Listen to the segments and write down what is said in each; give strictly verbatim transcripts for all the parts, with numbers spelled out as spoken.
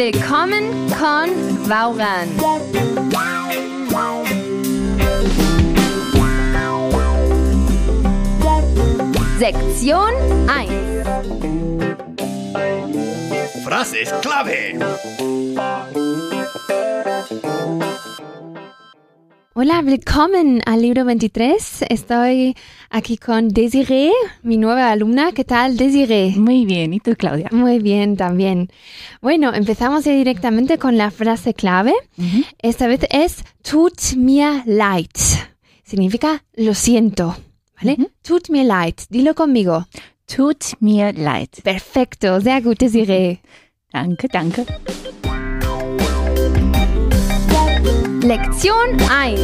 Willkommen con Vauran. Sección eins. Frases clave. Hola, willkommen al libro veintitrés. Estoy aquí con Desiree, mi nueva alumna. ¿Qué tal, Desiree? Muy bien, ¿y tú, Claudia? Muy bien, también. Bueno, empezamos ya directamente con la frase clave. Uh-huh. Esta vez es tut mir leid. Significa lo siento, ¿vale? Uh-huh. Tut mir leid. Dilo conmigo. Tut mir leid. Perfecto, sehr gut, Desiree. Danke, danke. Lección eins.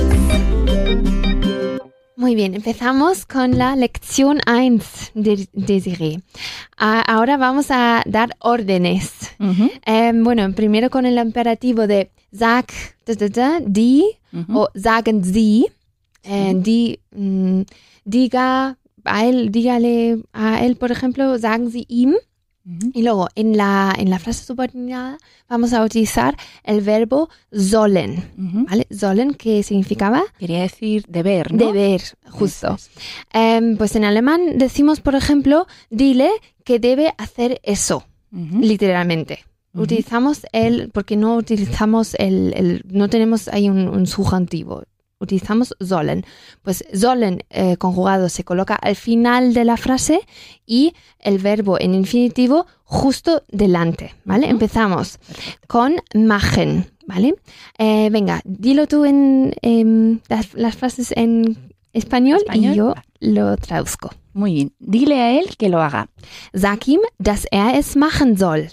Muy bien, empezamos con la lección eins de Desiree. Uh, ahora vamos a dar órdenes. Uh-huh. Um, bueno, primero con el imperativo de sag, da, da, da, die, uh-huh. o sagen Sie. Uh, die, um, diga a él, dígale a él, por ejemplo, sagen Sie ihm. Uh-huh. Y luego, en la, en la frase subordinada, vamos a utilizar el verbo sollen, uh-huh. ¿vale? Sollen, ¿qué significaba? Quería decir deber, ¿no? Deber, justo. Um, pues en alemán decimos, por ejemplo, dile que debe hacer eso, uh-huh. literalmente. Uh-huh. Utilizamos el, porque no utilizamos el, el no tenemos ahí un, un subjuntivo. Utilizamos sollen. Pues sollen eh, conjugado se coloca al final de la frase y el verbo en infinitivo justo delante, ¿vale? Uh-huh. Empezamos con machen, ¿vale? Eh, venga, dilo tú en eh, las, las frases en español, español y yo lo traduzco. Muy bien. Dile a él que lo haga. Sag ihm, dass er es machen soll.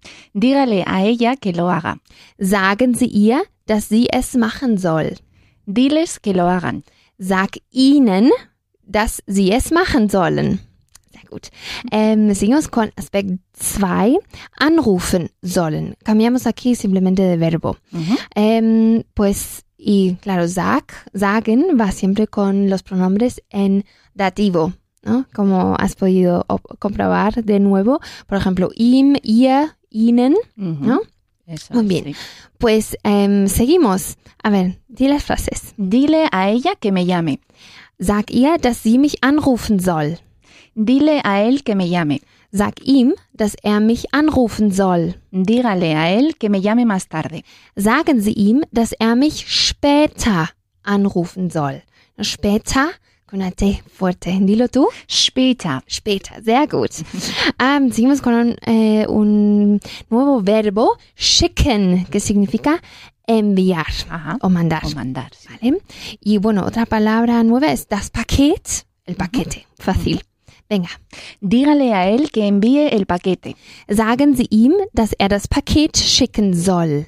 Dígale a ella que lo haga. Sagen Sie ihr, dass sie es machen soll. Diles que lo hagan. Sag ihnen, dass sie es machen sollen. Sehr gut. Ähm, seguimos con aspect zwei. Anrufen sollen. Cambiamos aquí simplemente de verbo. Uh-huh. Ähm, pues, y claro, sag, sagen va siempre con los pronombres en dativo, ¿no? Como has podido op- comprobar de nuevo. Por ejemplo, ihm, ihr, ihnen, uh-huh. ¿no? Eso, muy bien, sí. Pues um, seguimos. A ver, di las frases. Dile a ella que me llame. Sag ihr, dass sie mich anrufen soll. Dile a él que me llame. Sag ihm, dass er mich anrufen soll. Dígale a él que me llame más tarde. Sagen Sie ihm, dass er mich später anrufen soll. Später, con una T fuerte. Dilo tú. Später. Später, sehr gut. um, seguimos con un, eh, un nuevo verbo, schicken, que significa enviar. Ajá. o mandar. O mandar, sí. ¿Vale? Y bueno, otra palabra nueva es das Paket, el paquete. Uh-huh. Fácil. Venga. Dígale a él que envíe el paquete. Sagen Sie ihm, dass er das Paket schicken soll.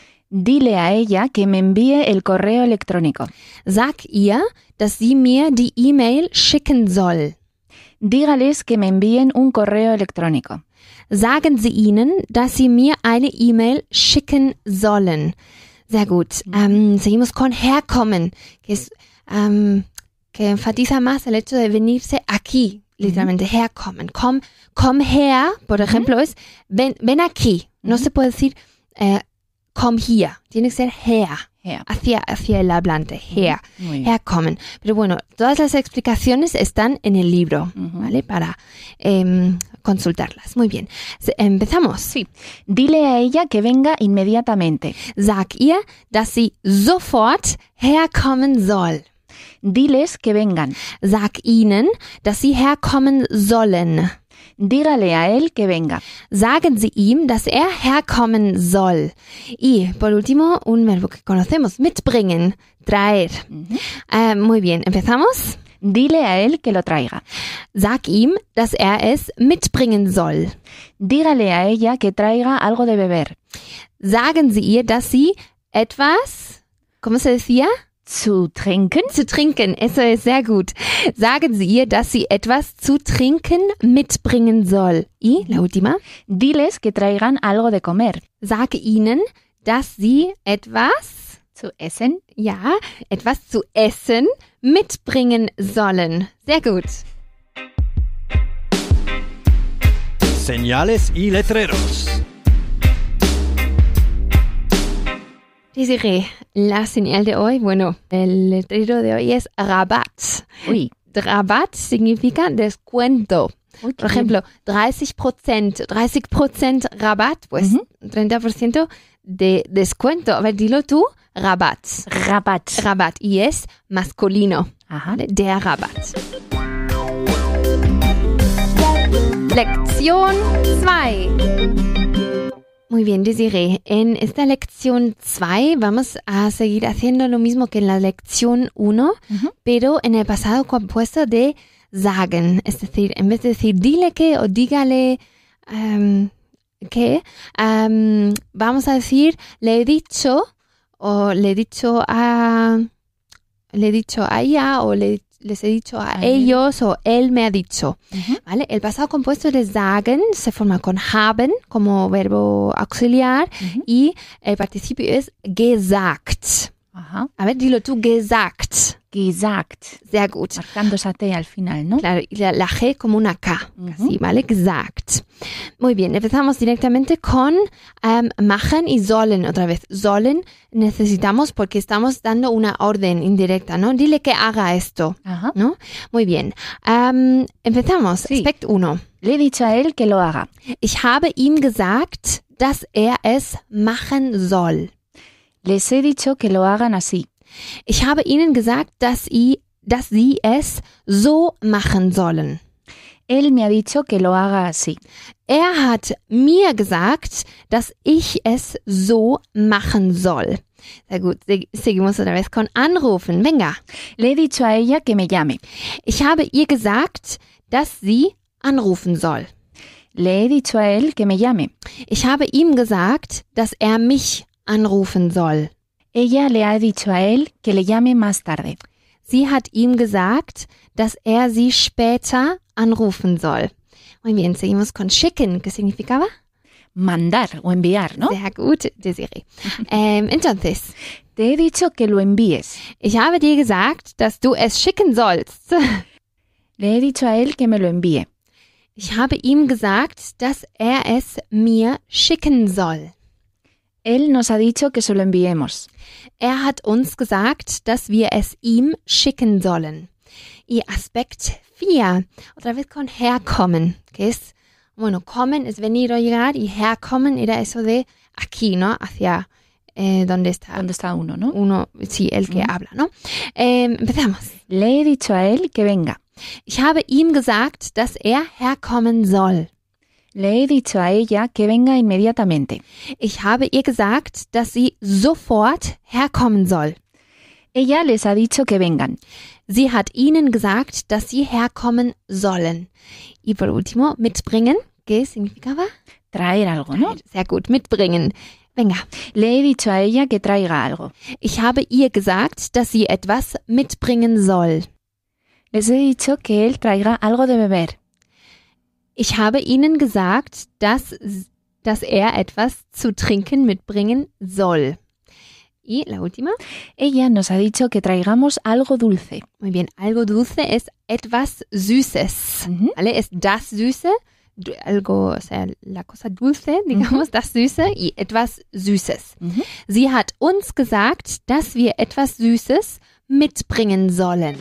Dile a ella que me envíe el correo electrónico. Sag ihr, dass sie mir die E-Mail schicken soll. Dígales que me envíen un correo electrónico. Sagen Sie ihnen, dass sie mir eine E-Mail schicken sollen. Sehr gut. Um, seguimos con herkommen, que es um, que enfatiza más el hecho de venirse aquí, literalmente, uh-huh. herkommen. Komm, komm her, por ejemplo, uh-huh. es ven, ven aquí. No uh-huh. se puede decir eh, komm hier. Tiene que ser her. Her. Hacia, hacia el hablante, her, herkommen. Pero bueno, todas las explicaciones están en el libro, uh-huh. ¿vale? Para eh, consultarlas. Muy bien. ¿Empezamos? Sí. Dile a ella que venga inmediatamente. Sag ihr, dass sie sofort herkommen soll. Diles que vengan. Sag ihnen, dass sie herkommen sollen. Dígale a él que venga. Sagen Sie ihm, dass er herkommen soll. Y, por último, un verbo que conocemos, mitbringen, traer. Uh-huh. Uh, muy bien, ¿empezamos? Dile a él que lo traiga. Sag ihm, dass er es mitbringen soll. Dígale a ella que traiga algo de beber. Sagen Sie ihr, dass sie etwas, ¿cómo se decía? Zu trinken? Zu trinken, eso es sehr gut. Sagen Sie ihr, dass sie etwas zu trinken mitbringen soll. Y la última. Diles que traigan algo de comer. Sage ihnen, dass sie etwas zu essen, ja, etwas zu essen mitbringen sollen. Sehr gut. Señales y letreros. Desiree, la señal de hoy, bueno, el letrero de hoy es Rabatt. Uy. Rabatt significa descuento. Uy, Por ejemplo, treinta por ciento, treinta por ciento Rabatt, pues Uh-huh. treinta por ciento de descuento. A ver, dilo tú, Rabatt. Rabatt. Rabatt. Y es masculino. Ajá. ¿Vale? Der Rabatt. Lección dos. Muy bien, Desiree. En esta lección dos vamos a seguir haciendo lo mismo que en la lección uno, Uh-huh. pero en el pasado compuesto de sagen. Es decir, en vez de decir dile que o dígale um, que, um, vamos a decir le he dicho o le he dicho a le he dicho a ella o le, les he dicho a, A ellos o él me ha dicho. Uh-huh. ¿Vale? El pasado compuesto de sagen se forma con haben como verbo auxiliar Uh-huh. y el participio es gesagt. Ajá. A ver, dilo tú, gesagt. Gesagt. Sehr gut. Marcando esa T al final, ¿no? Claro, y la, la G como una K, Ujú. así, ¿vale? Gesagt. Muy bien, empezamos directamente con um, machen y sollen otra vez. Sollen necesitamos porque estamos dando una orden indirecta, ¿no? Dile que haga esto, Ajá. ¿no? Muy bien. Um, empezamos. Sí. Aspekt uno. Le he dicho a él que lo haga. Ich habe ihm gesagt, dass er es machen soll. Les he dicho que lo hagan así. Ich habe ihnen gesagt, dass, i, dass sie es so machen sollen. Él me ha dicho que lo haga así. Er hat mir gesagt, dass ich es so machen soll. Sehr gut, se- seguimos otra vez con anrufen. Venga. Le he dicho a ella que me llame. Ich habe ihr gesagt, dass sie anrufen soll. Le he dicho a él que me llame. Ich habe ihm gesagt, dass er mich anrufen soll. Ella le ha dicho a él que le llame más tarde. Sie hat ihm gesagt, dass er sie später anrufen soll. Muy bien, seguimos con schicken, ¿qué significaba? Mandar o enviar, ¿no? Sehr gut, Desiree. ähm, entonces, Te he dicho que lo envíes. ich habe dir gesagt, dass du es schicken sollst. Le he dicho a él que me lo envíe. Ich habe ihm gesagt, dass er es mir schicken soll. Él nos ha dicho que se lo enviemos. Er hat uns gesagt, dass wir es ihm schicken sollen. Y Aspekt vier, otra vez con herkommen, que es, bueno, kommen es venir o llegar y herkommen era eso de aquí, ¿no? Hacia eh, donde está ¿Dónde está uno, no? uno, sí, el que Ujú. habla, ¿no? Eh, empezamos. Le he dicho a él que venga. Ich habe ihm gesagt, dass er herkommen soll. Le he dicho a ella que venga inmediatamente. Ich habe ihr gesagt, dass sie sofort herkommen soll. Ella les ha dicho que vengan. Sie hat ihnen gesagt, dass sie herkommen sollen. Y por último, mitbringen. ¿Qué significaba? Traer algo, ¿no? Sehr gut, mitbringen. Venga. Le he dicho a ella que traiga algo. Ich habe ihr gesagt, dass sie etwas mitbringen soll. Les he dicho que él traiga algo de beber. Ich habe ihnen gesagt, dass, dass er etwas zu trinken mitbringen soll. Y la última. Ella nos ha dicho que traigamos algo dulce. Muy bien, algo dulce es etwas Süßes. Ujú. ¿Vale? Es das Süße, du- algo, o sea, la cosa dulce, digamos, das Süße y etwas Süßes. Ujú. Sie hat uns gesagt, dass wir etwas Süßes mitbringen sollen.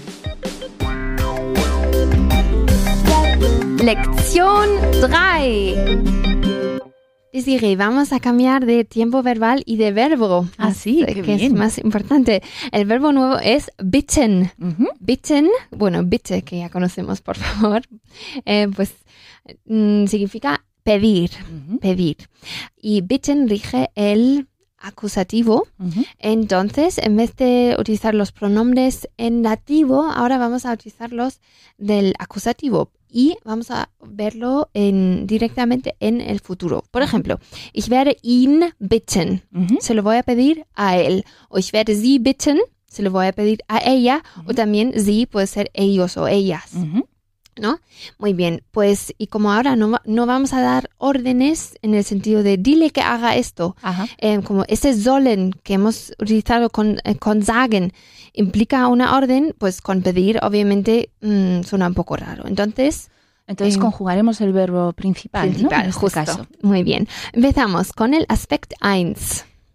Lección tres. Desiree, vamos a cambiar de tiempo verbal y de verbo. Ah, sí, eh, qué que es bien. más importante. El verbo nuevo es bitten. Ujú. Bitten, bueno, bitte, que ya conocemos, por favor, eh, pues mm, significa pedir, Ujú. pedir. Y bitten rige el acusativo. Ujú. Entonces, en vez de utilizar los pronombres en dativo, ahora vamos a utilizar los del acusativo. Y vamos a verlo en, directamente en el futuro. Por ejemplo, ich werde ihn bitten. Ujú. Se lo voy a pedir a él. O ich werde sie bitten. Se lo voy a pedir a ella. O también sie puede ser ellos o ellas. Ujú. ¿No? Muy bien. Pues, y como ahora no, va- no vamos a dar órdenes en el sentido de dile que haga esto. Ajá. Eh, como ese sollen que hemos utilizado con, eh, con sagen implica una orden, pues con pedir obviamente mm, suena un poco raro. Entonces, Entonces Eh, conjugaremos el verbo principal, ¿no? principal, En este justo. caso. Muy bien. Empezamos con el Aspekt uno.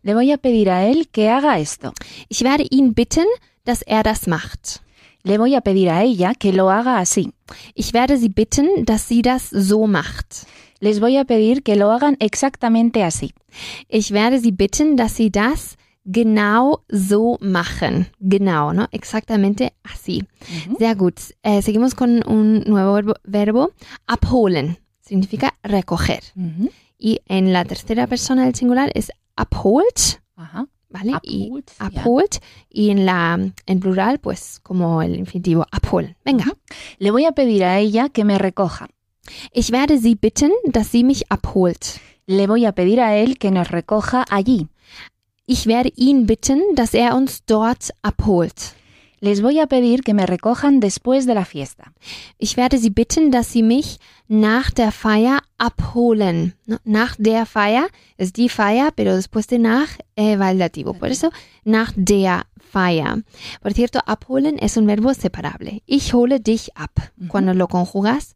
Le voy a pedir a él que haga esto. Ich werde ihn bitten, dass er das macht. Le voy a pedir a ella que lo haga así. Ich werde sie bitten, dass sie das so macht. Les voy a pedir que lo hagan exactamente así. Ich werde sie bitten, dass sie das genau so machen. Genau, ¿no? Exactamente así. Uh-huh. Sehr gut. Eh, seguimos con un nuevo verbo, verbo. Abholen. Significa recoger. Uh-huh. Y en la tercera persona del singular es abholt. Ajá. ¿Vale? Abholt, Y ja. abholt. Y en la en plural, pues como el infinitivo abholen. Venga. Uh-huh. Le voy a pedir a ella que me recoja. Ich werde sie bitten, dass sie mich abholt. Le voy a pedir a él que nos recoja allí. Ich werde ihn bitten, dass er uns dort abholt. Les voy a pedir que me recojan después de la fiesta. Ich werde sie bitten, dass sie mich nach der Feier abholen. No, nach der Feier es die Feier, pero después de nach eh, va el dativo. Por eso, nach der Feier. Por cierto, abholen es un verbo separable. Ich hole dich ab. Uh-huh. Cuando lo conjugas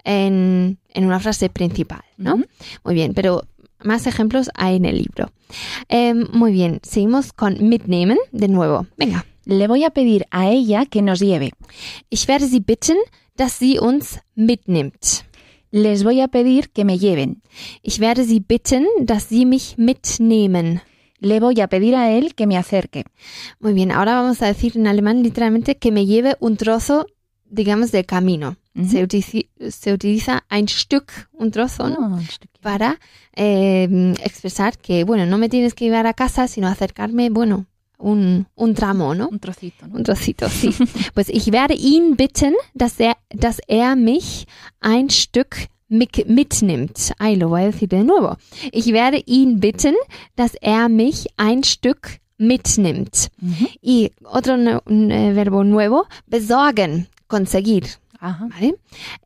en, en una frase principal, ¿no? Uh-huh. Muy bien, pero más ejemplos hay en el libro. Eh, muy bien, seguimos con mitnehmen de nuevo. Venga. Le voy a pedir a ella que nos lleve. Ich werde sie bitten, dass sie uns mitnimmt. Les voy a pedir que me lleven. Ich werde sie bitten, dass sie mich mitnehmen. Le voy a pedir a él que me acerque. Muy bien, ahora vamos a decir en alemán literalmente que me lleve un trozo, digamos, del camino. Uh-huh. Se, utiliza, se utiliza ein Stück, un trozo, ¿no? Oh, un Stück, ja. Para eh, expresar que, bueno, no me tienes que llevar a casa, sino acercarme, bueno, un, un tramo, ¿no? Un trocito, ¿no? Un trocito, sí. Pues ich werde ihn bitten, dass er, dass er mich ein Stück mitnimmt. Ay, lo voy a decir de nuevo. Ich werde ihn bitten, dass er mich ein Stück mitnimmt. Uh-huh. Y otro no, un, eh, verbo nuevo, besorgen, conseguir. Ajá. ¿Vale?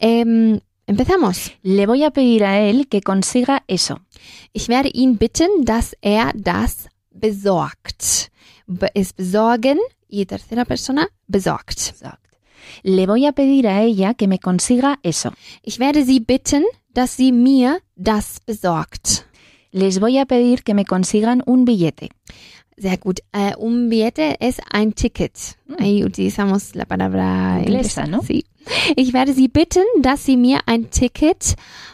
Eh, empezamos. Le voy a pedir a él que consiga eso. Ich werde ihn bitten, dass er das besorgt. Es besorgen y tercera persona besorgt. Besorgt. Le voy a pedir a ella que me consiga eso. Ich werde sie bitten, dass sie mir das besorgt. Les voy a pedir que me consigan un billete. Sehr gut. Uh, un billete es ein Ticket. Mm. Ahí utilizamos la palabra inglesa, inglesa, ¿no? Sí. Ich werde sie bitten, dass sie mir ein Ticket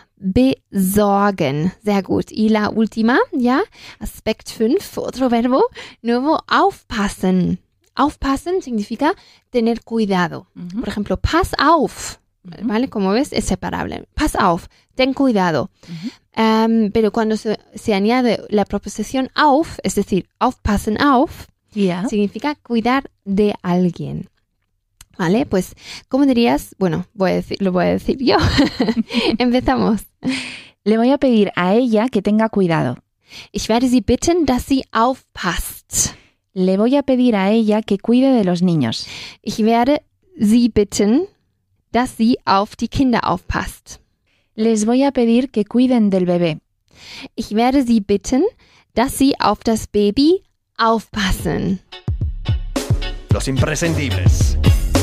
besorgen. Sehr gut. Y la última, ya, Aspekt fünf, otro verbo, nuevo, aufpassen. Aufpassen significa tener cuidado. Uh-huh. Por ejemplo, pass auf, uh-huh. ¿vale? Como ves, es separable. Pass auf, ten cuidado. Uh-huh. Um, pero cuando se, se añade la preposición auf, es decir, aufpassen auf, yeah. significa cuidar de alguien. ¿Vale? Pues, ¿cómo dirías? Bueno, voy a decir, lo voy a decir yo. Empezamos. Le voy a pedir a ella que tenga cuidado. Ich werde sie bitten, dass sie aufpasst. Le voy a pedir a ella que cuide de los niños. Ich werde sie bitten, dass sie auf die Kinder aufpasst. Les voy a pedir que cuiden del bebé. Ich werde sie bitten, dass sie auf das Baby aufpassen. Los imprescindibles.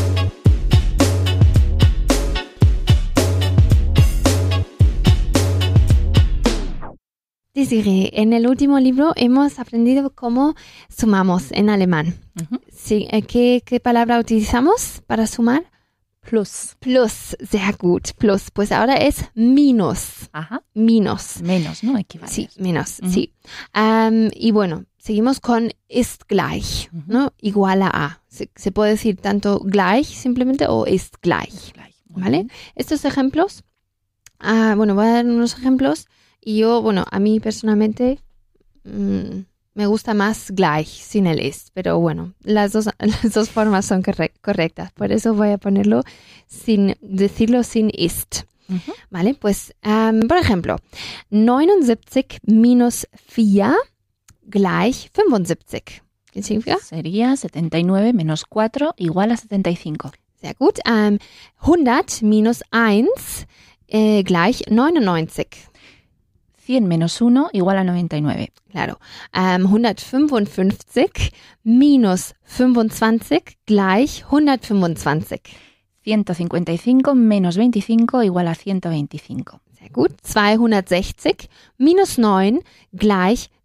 Desiree, en el último libro hemos aprendido cómo sumamos en alemán. Uh-huh. Sí, ¿qué, ¿Qué palabra utilizamos para sumar? Plus. Plus, sehr gut, plus. Pues ahora es minus. Ajá. Minus. Menos, ¿no? Equivale. Sí, menos, uh-huh. sí. Um, y bueno, seguimos con ist gleich, uh-huh. ¿no? Igual a a. Se, se puede decir tanto gleich simplemente o ist gleich. gleich. ¿Vale? Estos ejemplos, uh, bueno, voy a dar unos ejemplos. Y yo, bueno, a mí personalmente mmm, me gusta más gleich sin el ist, pero bueno, las dos, las dos formas son corre- correctas, por eso voy a ponerlo sin decirlo sin ist. Uh-huh. ¿Vale? Pues, um, por ejemplo, neunundsiebzig minus vier gleich fünfundsiebzig. ¿Qué significa? Sería setenta y nueve menos cuatro igual a setenta y cinco. Sehr gut. Um, hundert minus eins äh, gleich neunundneunzig. cien menos uno igual a noventa y nueve. Claro. Um, hundertfünfundfünfzig minus fünfundzwanzig gleich hundertfünfundzwanzig. ciento cincuenta y cinco menos veinticinco igual a ciento veinticinco. Sehr gut. zweihundertsechzig minus neun gleich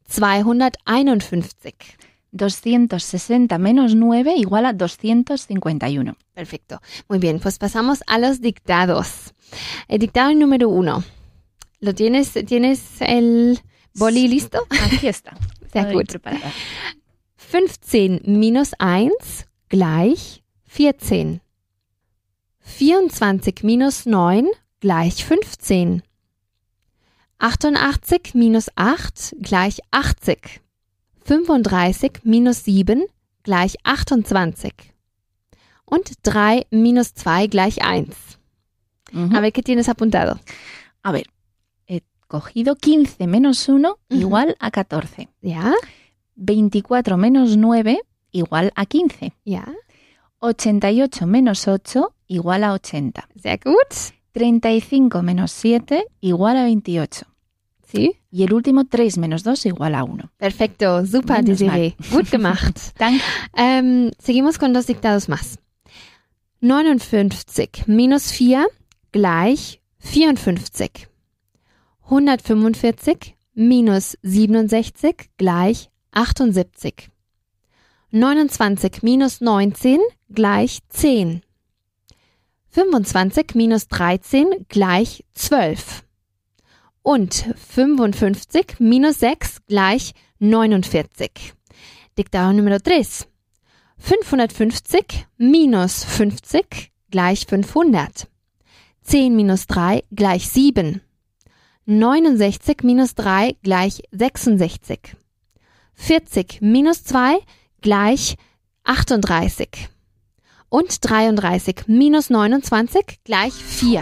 zweihunderteinundfünfzig. doscientos sesenta menos nueve igual a doscientos cincuenta y uno. Perfecto. Muy bien, pues pasamos a los dictados. El dictado número uno. ¿Lo tienes, tienes el boli listo? Aquí está. Sehr Estoy gut. preparada. fünfzehn minus eins gleich vierzehn. vierundzwanzig minus neun gleich fünfzehn. achtundachtzig minus acht gleich achtzig. fünfunddreißig minus sieben gleich achtundzwanzig. Und drei minus zwei gleich eins. Ujú. A ver, ¿qué tienes apuntado? A ver, he cogido quince menos uno Ujú. igual a catorce. ¿Ya? veinticuatro menos nueve igual a quince. ¿Ya? ochenta y ocho menos ocho igual a ochenta. Sehr gut. treinta y cinco menos siete igual a veintiocho. ¿Sí? Y el último, tres menos dos igual a uno. Perfecto. Super, Menos Desiree. Gut gemacht. Danke. Ähm, seguimos con dos dictados más. neunundfünfzig minus vier gleich vierundfünfzig. hundertfünfundvierzig minus siebenundsechzig gleich achtundsiebzig. neunundzwanzig minus neunzehn gleich zehn. fünfundzwanzig minus dreizehn gleich zwölf. Und fünfundfünfzig minus sechs gleich neunundvierzig. Dictado número tres. fünfhundertfünfzig minus fünfzig gleich fünfhundert. zehn minus drei gleich sieben. neunundsechzig minus drei gleich sechsundsechzig. vierzig minus zwei gleich achtunddreißig. Und dreiunddreißig minus neunundzwanzig gleich vier.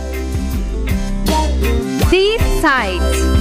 Die Zeit.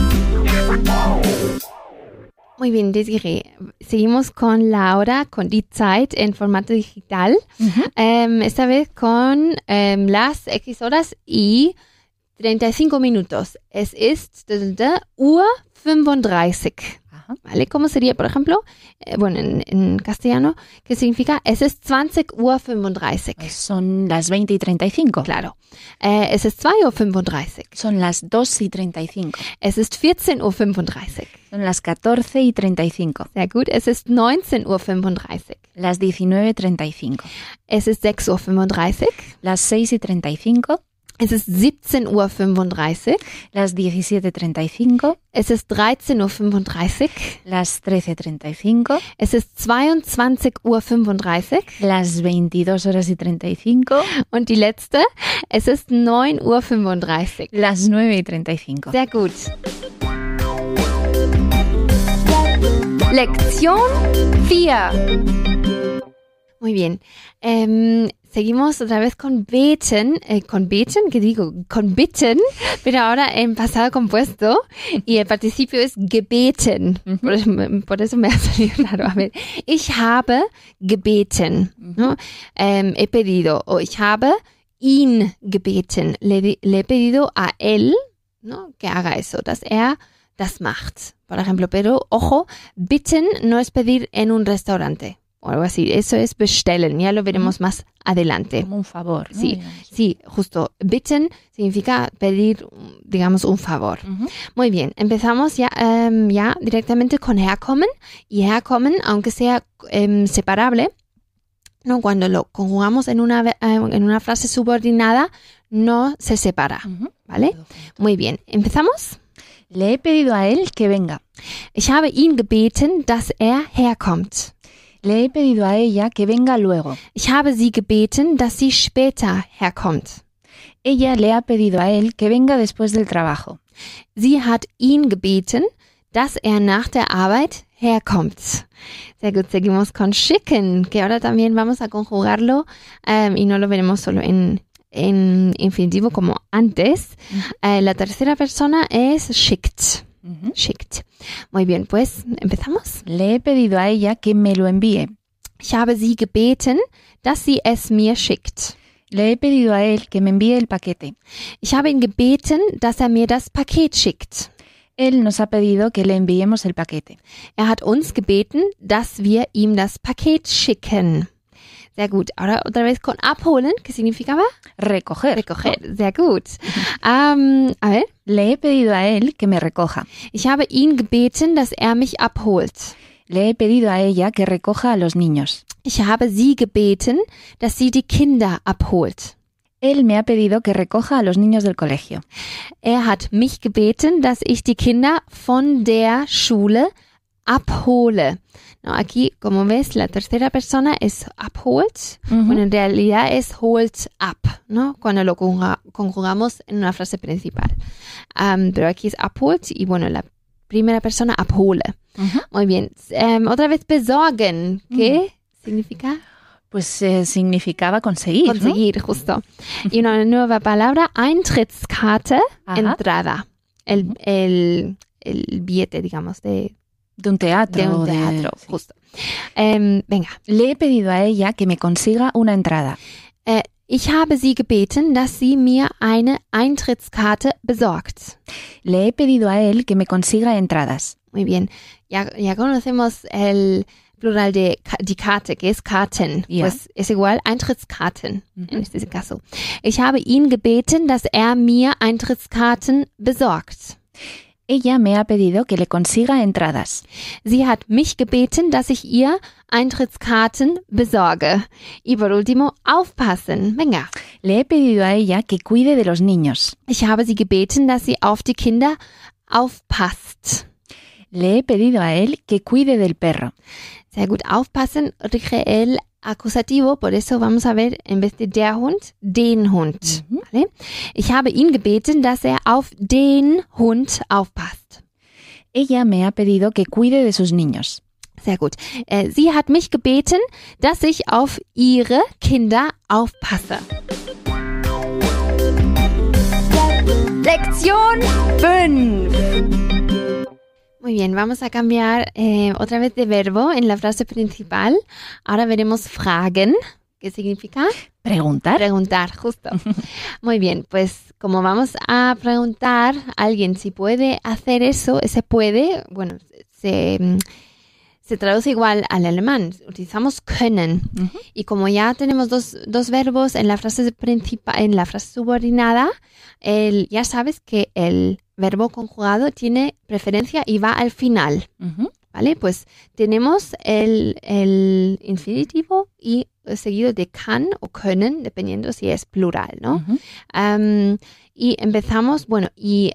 Muy bien, Desiree. Seguimos con la hora, con die Zeit en formato digital. Ujú. Um, esta vez con um, las X horas y treinta y cinco minutos. Es ist Uhr fünfunddreißig. Ajá. ¿Vale? ¿Cómo sería, por ejemplo? Eh, bueno, en, en castellano, ¿qué significa? Es ist zwanzig Uhr fünfunddreißig. Son las veinte y treinta y cinco. Claro. Eh, es ist zwei Uhr fünfunddreißig. Son las dos y treinta y cinco. Es ist vierzehn Uhr fünfunddreißig. Son las catorce y treinta y cinco. Sehr gut. Es ist neunzehn Uhr fünfunddreißig. Las diecinueve y treinta y cinco. Es ist sechs Uhr fünfunddreißig. Las seis y treinta y cinco. Es ist siebzehn Uhr fünfunddreißig. Las diecisiete y treinta y cinco. Es ist dreizehn Uhr fünfunddreißig. Las trece y treinta y cinco. Es ist zweiundzwanzig Uhr fünfunddreißig. Las veintidós horas y treinta y cinco. Und die letzte, es ist neun Uhr fünfunddreißig. Las nueve y treinta y cinco. Sehr gut. Lección vier. Muy bien. Ähm, seguimos otra vez con beten, eh, con beten, ¿qué digo? Con bitten, pero ahora en pasado compuesto y el participio es gebeten. Mhm. Por, eso, por eso me ha salido raro. A ver, ich habe gebeten, ¿no? Ähm, he pedido, o ich habe ihn gebeten. Le, le he pedido a él, ¿no? Que haga eso, dass er das macht, por ejemplo. Pero, ojo, bitten no es pedir en un restaurante o algo así. Eso es bestellen, ya lo veremos mm. más adelante. Como un favor, ¿no? Sí, sí, justo. Bitten significa pedir, digamos, un favor. Uh-huh. Muy bien, empezamos ya, um, ya directamente con herkommen. Y herkommen, aunque sea um, separable, ¿no? Cuando lo conjugamos en una, en una frase subordinada, no se separa, Uh-huh. ¿vale? Muy bien, ¿empezamos? Le he pedido a él que venga. Ich habe ihn gebeten, dass er herkommt. Le he pedido a ella que venga luego. Ich habe sie gebeten, dass sie später herkommt. Ella le ha pedido a él que venga después del trabajo. Sie hat ihn gebeten, dass er nach der Arbeit herkommt. Sehr gut, seguimos con schicken, que ahora también vamos a conjugarlo um, y no lo veremos solo en, en infinitivo como antes. Uh-huh. Uh, la tercera persona es schickt. Uh-huh. Schickt. Muy bien, pues, ¿empezamos? Le he pedido a ella que me lo envíe. Ich habe sie gebeten, dass sie es mir schickt. Le he pedido a él que me envíe el paquete. Ich habe ihn gebeten, dass er mir das Paket schickt. Él nos ha pedido que le enviemos el paquete. Er hat uns gebeten, dass wir ihm das Paket schicken. Sehr gut. Ahora otra vez con abholen, ¿qué significaba? Recoger. Recoger. Sehr gut. Um, a ver. Le he pedido a él que me recoja. Ich habe ihn gebeten, dass er mich abholt. Le he pedido a ella que recoja a los niños. Ich habe sie gebeten, dass sie die Kinder abholt. Él me ha pedido que recoja a los niños del colegio. Er hat mich gebeten, dass ich die Kinder von der Schule abhole. No, aquí, como ves, la tercera persona es abholt. Uh-huh. Bueno, en realidad es holt up, ¿no? Cuando lo conjuga- conjugamos en una frase principal. Um, pero aquí es abholt y, bueno, la primera persona abhole. Uh-huh. Muy bien. Um, otra vez besorgen. ¿Qué uh-huh. significa? Pues eh, significaba conseguir, Conseguir, ¿no? justo. Y una nueva palabra, Eintrittskarte, Ajá. entrada. El, Uh-huh. el, el billete, digamos, de, De un teatro. de un teatro, sí. justo. Um, venga. Le he pedido a ella que me consiga una entrada. Äh, ich habe sie gebeten, dass sie mir eine Eintrittskarte besorgt. Le he pedido a él que me consiga entradas. Muy bien. Ya, ya conocemos el plural de ca- die Karte, que es Karten. Ja. Pues es igual Eintrittskarten Mhm. en este caso. Ich habe ihn gebeten, dass er mir Eintrittskarten besorgt. Ella me ha pedido que le consiga entradas. Sie hat mich gebeten, dass ich ihr Eintrittskarten besorge. Y por último, aufpassen. Venga. Le he pedido a ella que cuide de los niños. Ich habe sie gebeten, dass sie auf die Kinder aufpasst. Le he pedido a él que cuide del perro. Sehr gut, aufpassen, rige el acusativo, por eso vamos a ver en vez de der Hund, den Hund. Mhm. ¿Vale? Ich habe ihn gebeten, dass er auf den Hund aufpasst. Ella me ha pedido que cuide de sus niños. Sehr gut. Äh, sie hat mich gebeten, dass ich auf ihre Kinder aufpasse. Lección fünf. Muy bien, vamos a cambiar eh, otra vez de verbo en la frase principal. Ahora veremos fragen. ¿Qué significa? ¿Preguntar? Preguntar, justo. Muy bien, pues como vamos a preguntar a alguien si puede hacer eso, ese puede, bueno, se, se traduce igual al alemán. Utilizamos können. Uh-huh. Y como ya tenemos dos, dos verbos en la frase principal, en la frase subordinada, el, ya sabes que el verbo conjugado tiene preferencia y va al final. Uh-huh. ¿Vale? Pues tenemos el, el infinitivo y seguido de kann o können, dependiendo si es plural, ¿no? Uh-huh. Um, y empezamos, bueno, y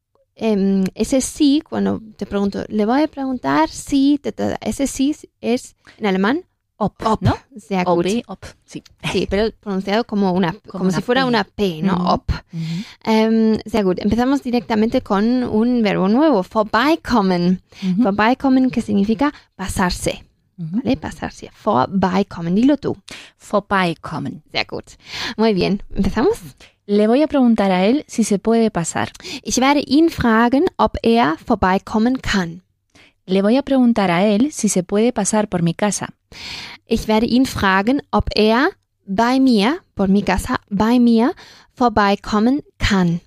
um, ese sí, cuando te pregunto, le voy a preguntar si, te, te, ese sí es en alemán, Ob, ob, ¿no? Sehr Ob, gut. ob, sí. Sí, pero pronunciado como una, como, Como si una fuera P. una P, ¿no? Mhm. Ob. Uh-huh. Ähm, sehr gut. Empezamos directamente con un verbo nuevo, vorbeikommen. Uh-huh. Vorbeikommen, que significa pasarse. Uh-huh. ¿Vale? Pasarse. Vorbeikommen. Dilo tú. Vorbeikommen. Sehr gut. Muy bien. ¿Empezamos? Le voy a preguntar a él si se puede pasar. Ich werde ihn fragen, ob er vorbeikommen kann. Le voy a preguntar a él si se puede pasar por mi casa. Ich werde ihn fragen, ob er bei mir, por mi casa, bei mir, vorbeikommen kann.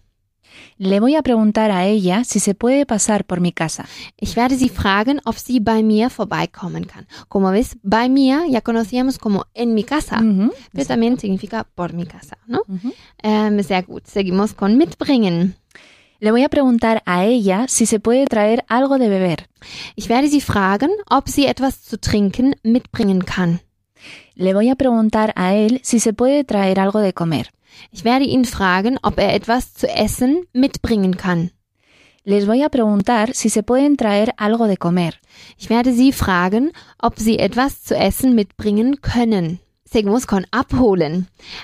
Le voy a preguntar a ella si se puede pasar por mi casa. Ich werde sie fragen, ob sie bei mir vorbeikommen kann. Como ves, bei mir ya conocíamos como en mi casa, Uh-huh. pero también significa por mi casa, ¿no? Uh-huh. Ähm, sehr gut. Seguimos con mitbringen. Le voy a preguntar a ella si se puede traer algo de beber. Ich werde sie fragen, ob sie etwas zu trinken mitbringen kann. Le voy a preguntar a él si se puede traer algo de comer. Ich werde ihn fragen, ob er etwas zu essen mitbringen kann. Les voy a preguntar si se pueden traer algo de comer. Ich werde sie fragen, ob sie etwas zu essen mitbringen können. Seguimos con abholen.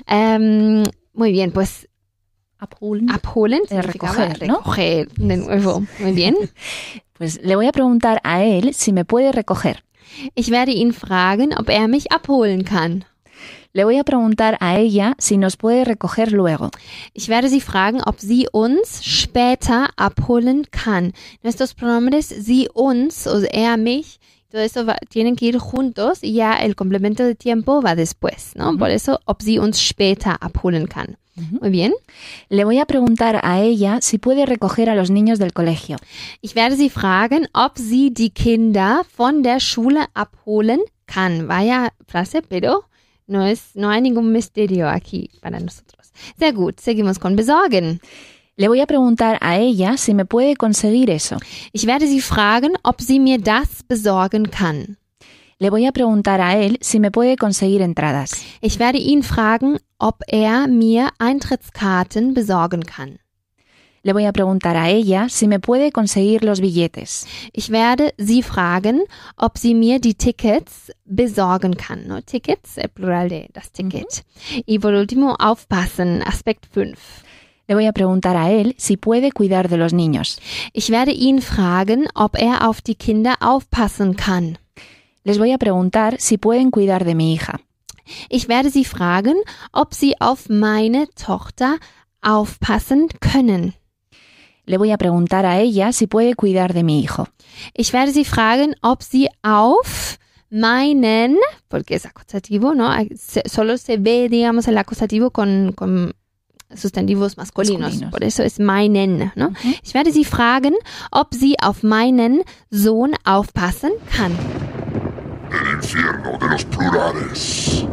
Ähm, muy bien, pues Abholen. abholen De significaba recoger, ¿no? recoger de nuevo. Muy bien. Pues le voy a preguntar a él si me puede recoger. Ich werde ihn fragen, ob er mich abholen kann. Le voy a preguntar a ella si nos puede recoger luego. Ich werde sie fragen, ob sie uns später abholen kann. Nuestros pronombres sie, uns, o er, mich, todo eso va, tienen que ir juntos y ya el complemento de tiempo va después, ¿no? Uh-huh. Por eso, ob sie uns später abholen kann. Uh-huh. Muy bien. Le voy a preguntar a ella si puede recoger a los niños del colegio. Ich werde sie fragen, ob sie die Kinder von der Schule abholen kann. Vaya frase, pero No es, no hay ningún misterio aquí para nosotros. Sehr gut, seguimos con besorgen. Le voy a preguntar a ella si me puede conseguir eso. Ich werde sie fragen, ob sie mir das besorgen kann. Le voy a preguntar a él si me puede conseguir entradas. Ich werde ihn fragen, ob er mir Eintrittskarten besorgen kann. Le voy a preguntar a ella si me puede conseguir los billetes. Ich werde sie fragen, ob sie mir die Tickets besorgen kann. ¿No? Tickets, el plural de das Ticket. Uh-huh. Y por último, aufpassen, Aspekt fünf. Le voy a preguntar a él si puede cuidar de los niños. Ich werde ihn fragen, ob er auf die Kinder aufpassen kann. Les voy a preguntar si pueden cuidar de mi hija. Ich werde sie fragen, ob sie auf meine Tochter aufpassen können. Le voy a preguntar a ella si puede cuidar de mi hijo. Ich werde sie fragen, ob sie auf meinen, porque es acusativo, ¿no? Solo se ve, digamos, el acusativo con, con sustantivos masculinos. masculinos. Por eso es meinen, ¿no? Uh-huh. Ich werde sie fragen, ob sie auf meinen Sohn aufpassen kann. El infierno de los plurales.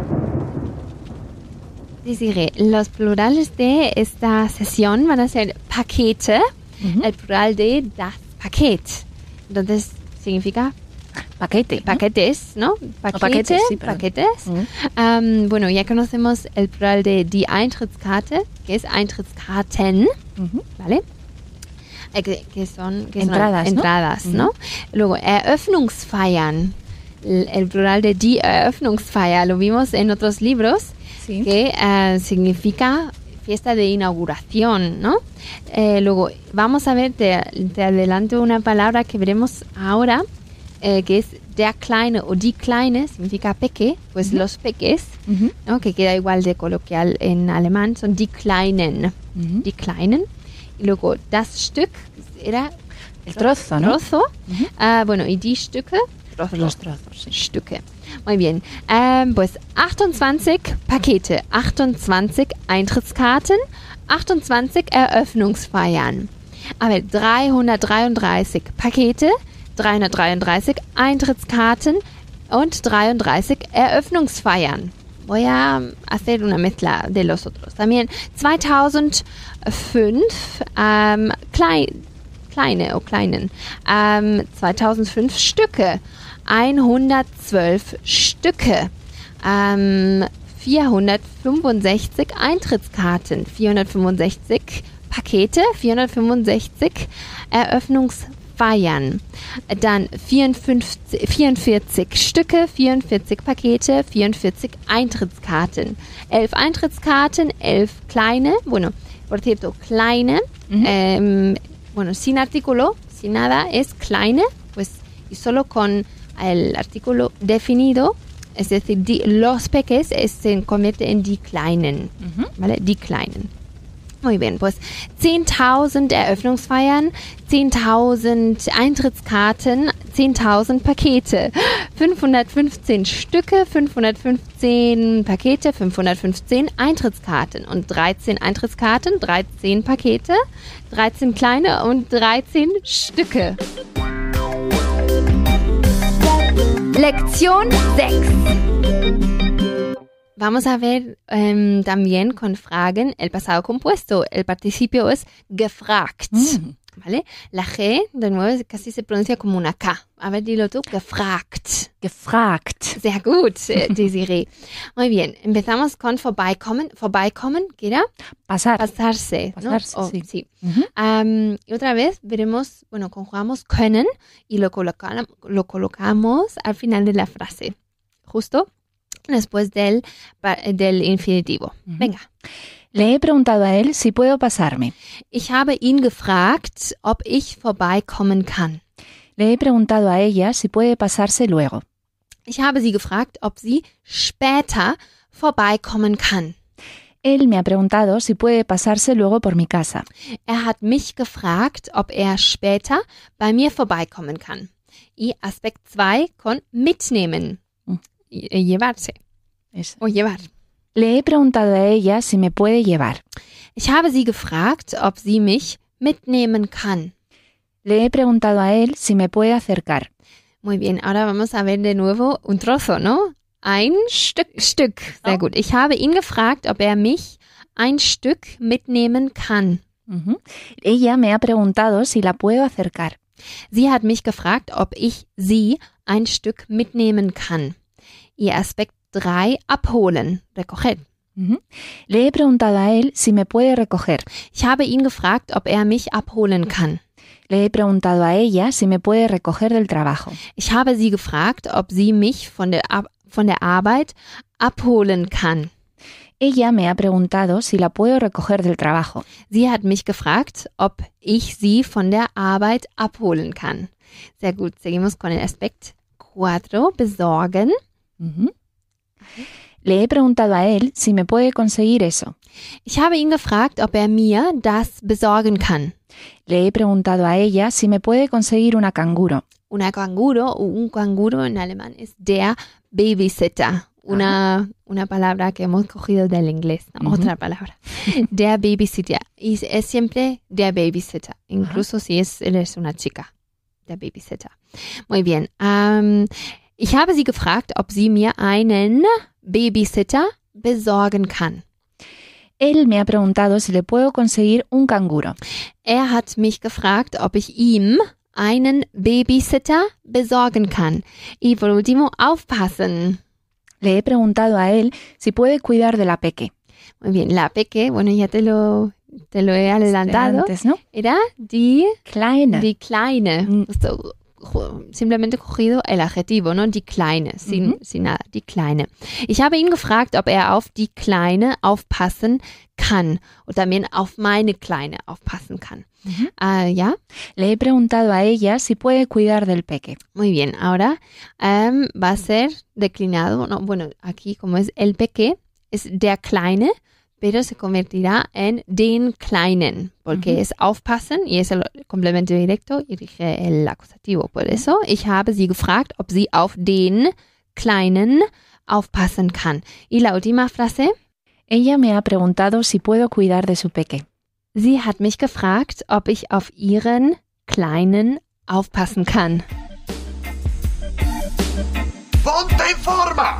Desiree, los plurales de esta sesión van a ser Pakete, uh-huh. el plural de das Paket. Entonces, significa paquete, paquetes, ¿no? Paquete, paquetes. Sí, paquetes. Uh-huh. Um, bueno, ya conocemos el plural de die Eintrittskarte, que es Eintrittskarten, uh-huh. ¿vale? Eh, que, que son que entradas, son entradas, ¿no? ¿no? Uh-huh. Luego, Eröffnungsfeiern, el, el plural de die Eröffnungsfeier, lo vimos en otros libros. Sí. Que uh, significa fiesta de inauguración, ¿no? Eh, luego, vamos a ver, te, te adelanto una palabra que veremos ahora, eh, que es der Kleine o die Kleine, significa peque, pues uh-huh. los peques, uh-huh. ¿no? Que queda igual de coloquial en alemán, son die Kleinen, uh-huh. die Kleinen. Y luego, das Stück era el trozo, ¿no? Trozo, uh-huh. uh, bueno, y die Stücke, trozos, los trozos, sí. Stücke. Muy bien, ähm, pues achtundzwanzig Pakete, achtundzwanzig Eintrittskarten, achtundzwanzig Eröffnungsfeiern. A ver, dreihundertdreiunddreißig Pakete, dreihundertdreiunddreißig Eintrittskarten und dreiunddreißig Eröffnungsfeiern. Voy a hacer una mezcla de los otros. También zweitausendfünf ähm, klein, kleine o kleinen, ähm, zweitausendfünf Stücke. hundertzwölf Stücke, ähm, vierhundertfünfundsechzig Eintrittskarten, vierhundertfünfundsechzig Pakete, vierhundertfünfundsechzig Eröffnungsfeiern, dann vierundfünfzig, vierundvierzig Stücke, vierundvierzig Pakete, vierundvierzig Eintrittskarten, elf Eintrittskarten, elf kleine, bueno, por cierto, kleine, uh-huh. ähm, bueno, sin artículo, sin nada, es kleine, pues, y solo con el artículo definido, es decir, die, los peques es, se convierte en die Kleinen, uh-huh. ¿vale? Die Kleinen. Muy bien, pues zehntausend Eröffnungsfeiern, zehntausend Eintrittskarten, zehntausend Pakete, fünfhundertfünfzehn Stücke, fünfhundertfünfzehn Pakete, fünfhundertfünfzehn Eintrittskarten und dreizehn Eintrittskarten, dreizehn Pakete, dreizehn kleine und dreizehn Stücke. Lección sechs. Vamos a ver um, también con Fragen el pasado compuesto. El participio es gefragt. Mm. ¿Vale? La G, de nuevo, casi se pronuncia como una K. A ver, dilo tú. Gefragt. Gefragt. Sehr gut, Desiree. Muy bien. Empezamos con vorbeikommen. Vorbeikommen, ¿qué era? Pasar. Pasarse. Pasarse, ¿no? Oh, sí. sí. Uh-huh. Um, y otra vez veremos, bueno, conjugamos können y lo, coloca, lo colocamos al final de la frase. Justo después del, del infinitivo. Uh-huh. Venga. Le he preguntado a él si puedo pasarme. Ich habe ihn gefragt, ob ich vorbeikommen kann. Le he preguntado a ella si puede pasarse luego. Ich habe sie gefragt, ob sie später vorbeikommen kann. Él me ha preguntado si puede pasarse luego por mi casa. Er hat mich gefragt, ob er später bei mir vorbeikommen kann. Y Aspekt zwei con mitnehmen. Mm. Llevarse. Eso. O llevar. Le he preguntado a ella si me puede llevar. Ich habe sie gefragt, ob sie mich mitnehmen kann. Le he preguntado a él si me puede acercar. Muy bien, ahora vamos a ver de nuevo un trozo, ¿no? ein Stück. Stück. Sehr Oh. gut. Ich habe ihn gefragt, ob er mich ein Stück mitnehmen kann. Ujú. Ella me ha preguntado si la puedo acercar. Sie hat mich gefragt, ob ich sie ein Stück mitnehmen kann. Ihr Aspekt drei, abholen, recoger. Ujú. Le he preguntado a él si me puede recoger. Ich habe ihn gefragt, ob er mich abholen kann. Le he preguntado a ella si me puede recoger del trabajo. Ich habe sie gefragt, ob sie mich von der, Ab- von der Arbeit abholen kann. Ella me ha preguntado si la puedo recoger del trabajo. Sie hat mich gefragt, ob ich sie von der Arbeit abholen kann. Sehr gut, seguimos con el Aspekt cuatro, besorgen. Ujú. Le he preguntado a él si me puede conseguir eso. Ich habe ihn gefragt, ob er mir das besorgen kann. Le he preguntado a ella si me puede conseguir una canguro. Una canguro, o un canguro en alemán es der Babysitter. Una, una palabra que hemos cogido del inglés, ¿no? Ujú. Otra palabra. Der Babysitter. Y es siempre der Babysitter, incluso si es, él es una chica. Der Babysitter. Muy bien. Ähm, ich habe sie gefragt, ob sie mir einen Babysitter besorgen kann. Él me ha preguntado si le puedo conseguir un canguro. Er hat mich gefragt, ob ich ihm einen Babysitter besorgen kann. Y por último, aufpassen. Le he preguntado a él si puede cuidar de la peque. Muy bien, la peque, bueno, ya te lo, te lo he adelantado. Antes, ¿no? Era die, Kleine. die Kleine. Mm. Esto, jo- simplemente cogido el adjetivo, ¿no? Die Kleine, sin, Mhm. sin nada, die Kleine. Ich habe ihn gefragt, ob er auf die Kleine aufpassen kann und también auf meine Kleine aufpassen kann. Mhm. Ah, ¿ya? Le he preguntado a ella si puede cuidar del peque. Muy bien, ahora em, va a ser declinado, no, bueno, aquí como es el peque, es der Kleine, pero se convertirá en den Kleinen, porque Ujú. es aufpassen y es el complemento directo y rige el acusativo. Por eso, ich habe sie gefragt, ob sie auf den Kleinen aufpassen kann. Y la última frase, Ella me ha preguntado si puedo cuidar de su peque. sie hat mich gefragt, ob ich auf ihren Kleinen aufpassen kann. ¡Ponte en forma!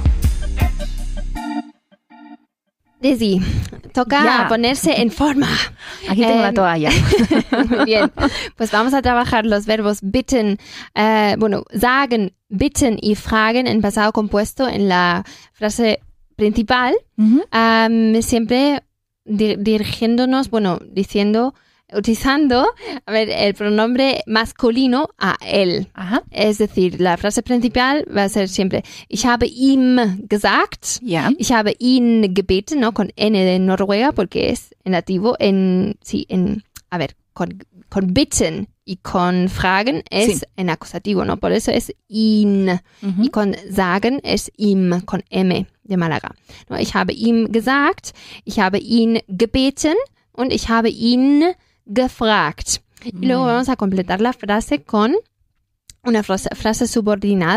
Desi, toca Ya. ponerse en forma. Aquí tengo la Em, toalla. Muy bien, pues vamos a trabajar los verbos bitten, eh, bueno, sagen, bitten y fragen en pasado compuesto en la frase principal, Ujú. am, siempre di- dirigiéndonos, bueno, diciendo, utilizando, a ver, el pronombre masculino a él. Ajá. Es decir, la frase principal va a ser siempre, ich habe ihm gesagt, Ya. ich habe ihn gebeten, ¿no? Con N de Noruega, porque es en nativo, en, sí, en, a ver, con, con bitten y con fragen es Sí. en acusativo, ¿no? Por eso es ihn. Ujú. Y con sagen es ihm, con M de Málaga. ¿No? Ich habe ihm gesagt, ich habe ihn gebeten und ich habe ihn gefragt. Y luego Muy vamos a completar la frase con una frase, frase subordinada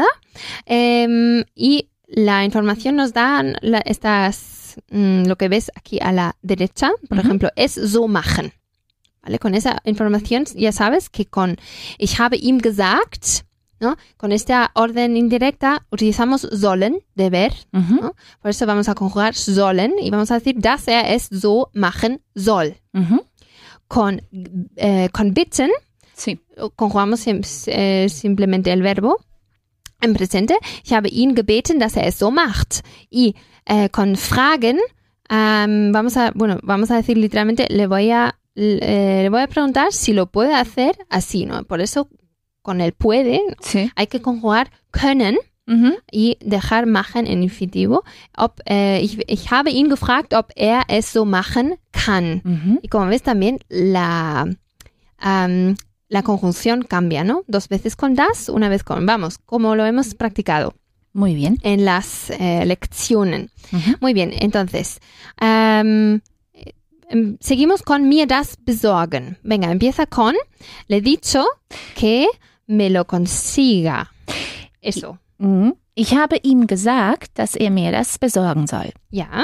em, y la información nos da la- estas, mm, lo que ves aquí a la derecha, por Ujú. ejemplo, es so machen. ¿Vale? Con esa información ya sabes que con ich habe ihm gesagt, ¿no? Con esta orden indirecta utilizamos sollen, deber, Ujú. ¿no? Por eso vamos a conjugar sollen y vamos a decir, dass er es so machen soll. Ujú. Con, eh, con bitten Sí. conjugamos sim- eh, simplemente el verbo en presente. Ich habe ihn gebeten, dass er es so macht. Y eh, con fragen, am, vamos a, bueno, vamos a decir literalmente, le voy a, le, le voy a preguntar si lo puede hacer así, ¿no? Por eso con el puede Sí. hay que conjugar können Ujú. y dejar machen en infinitivo. Ob, eh, ich, ich habe ihn gefragt, ob er es so machen kann. Ujú. Y como ves también la, am, la conjunción cambia, ¿no? Dos veces con das, una vez con vamos, como lo hemos practicado Muy bien. en las eh, lecciones. Ujú. Muy bien, entonces, am, em, seguimos con mir das besorgen. Venga, empieza con, le he dicho que me lo consiga. Eso, Mhm. Ich habe ihm gesagt, dass er mir das besorgen soll. ja,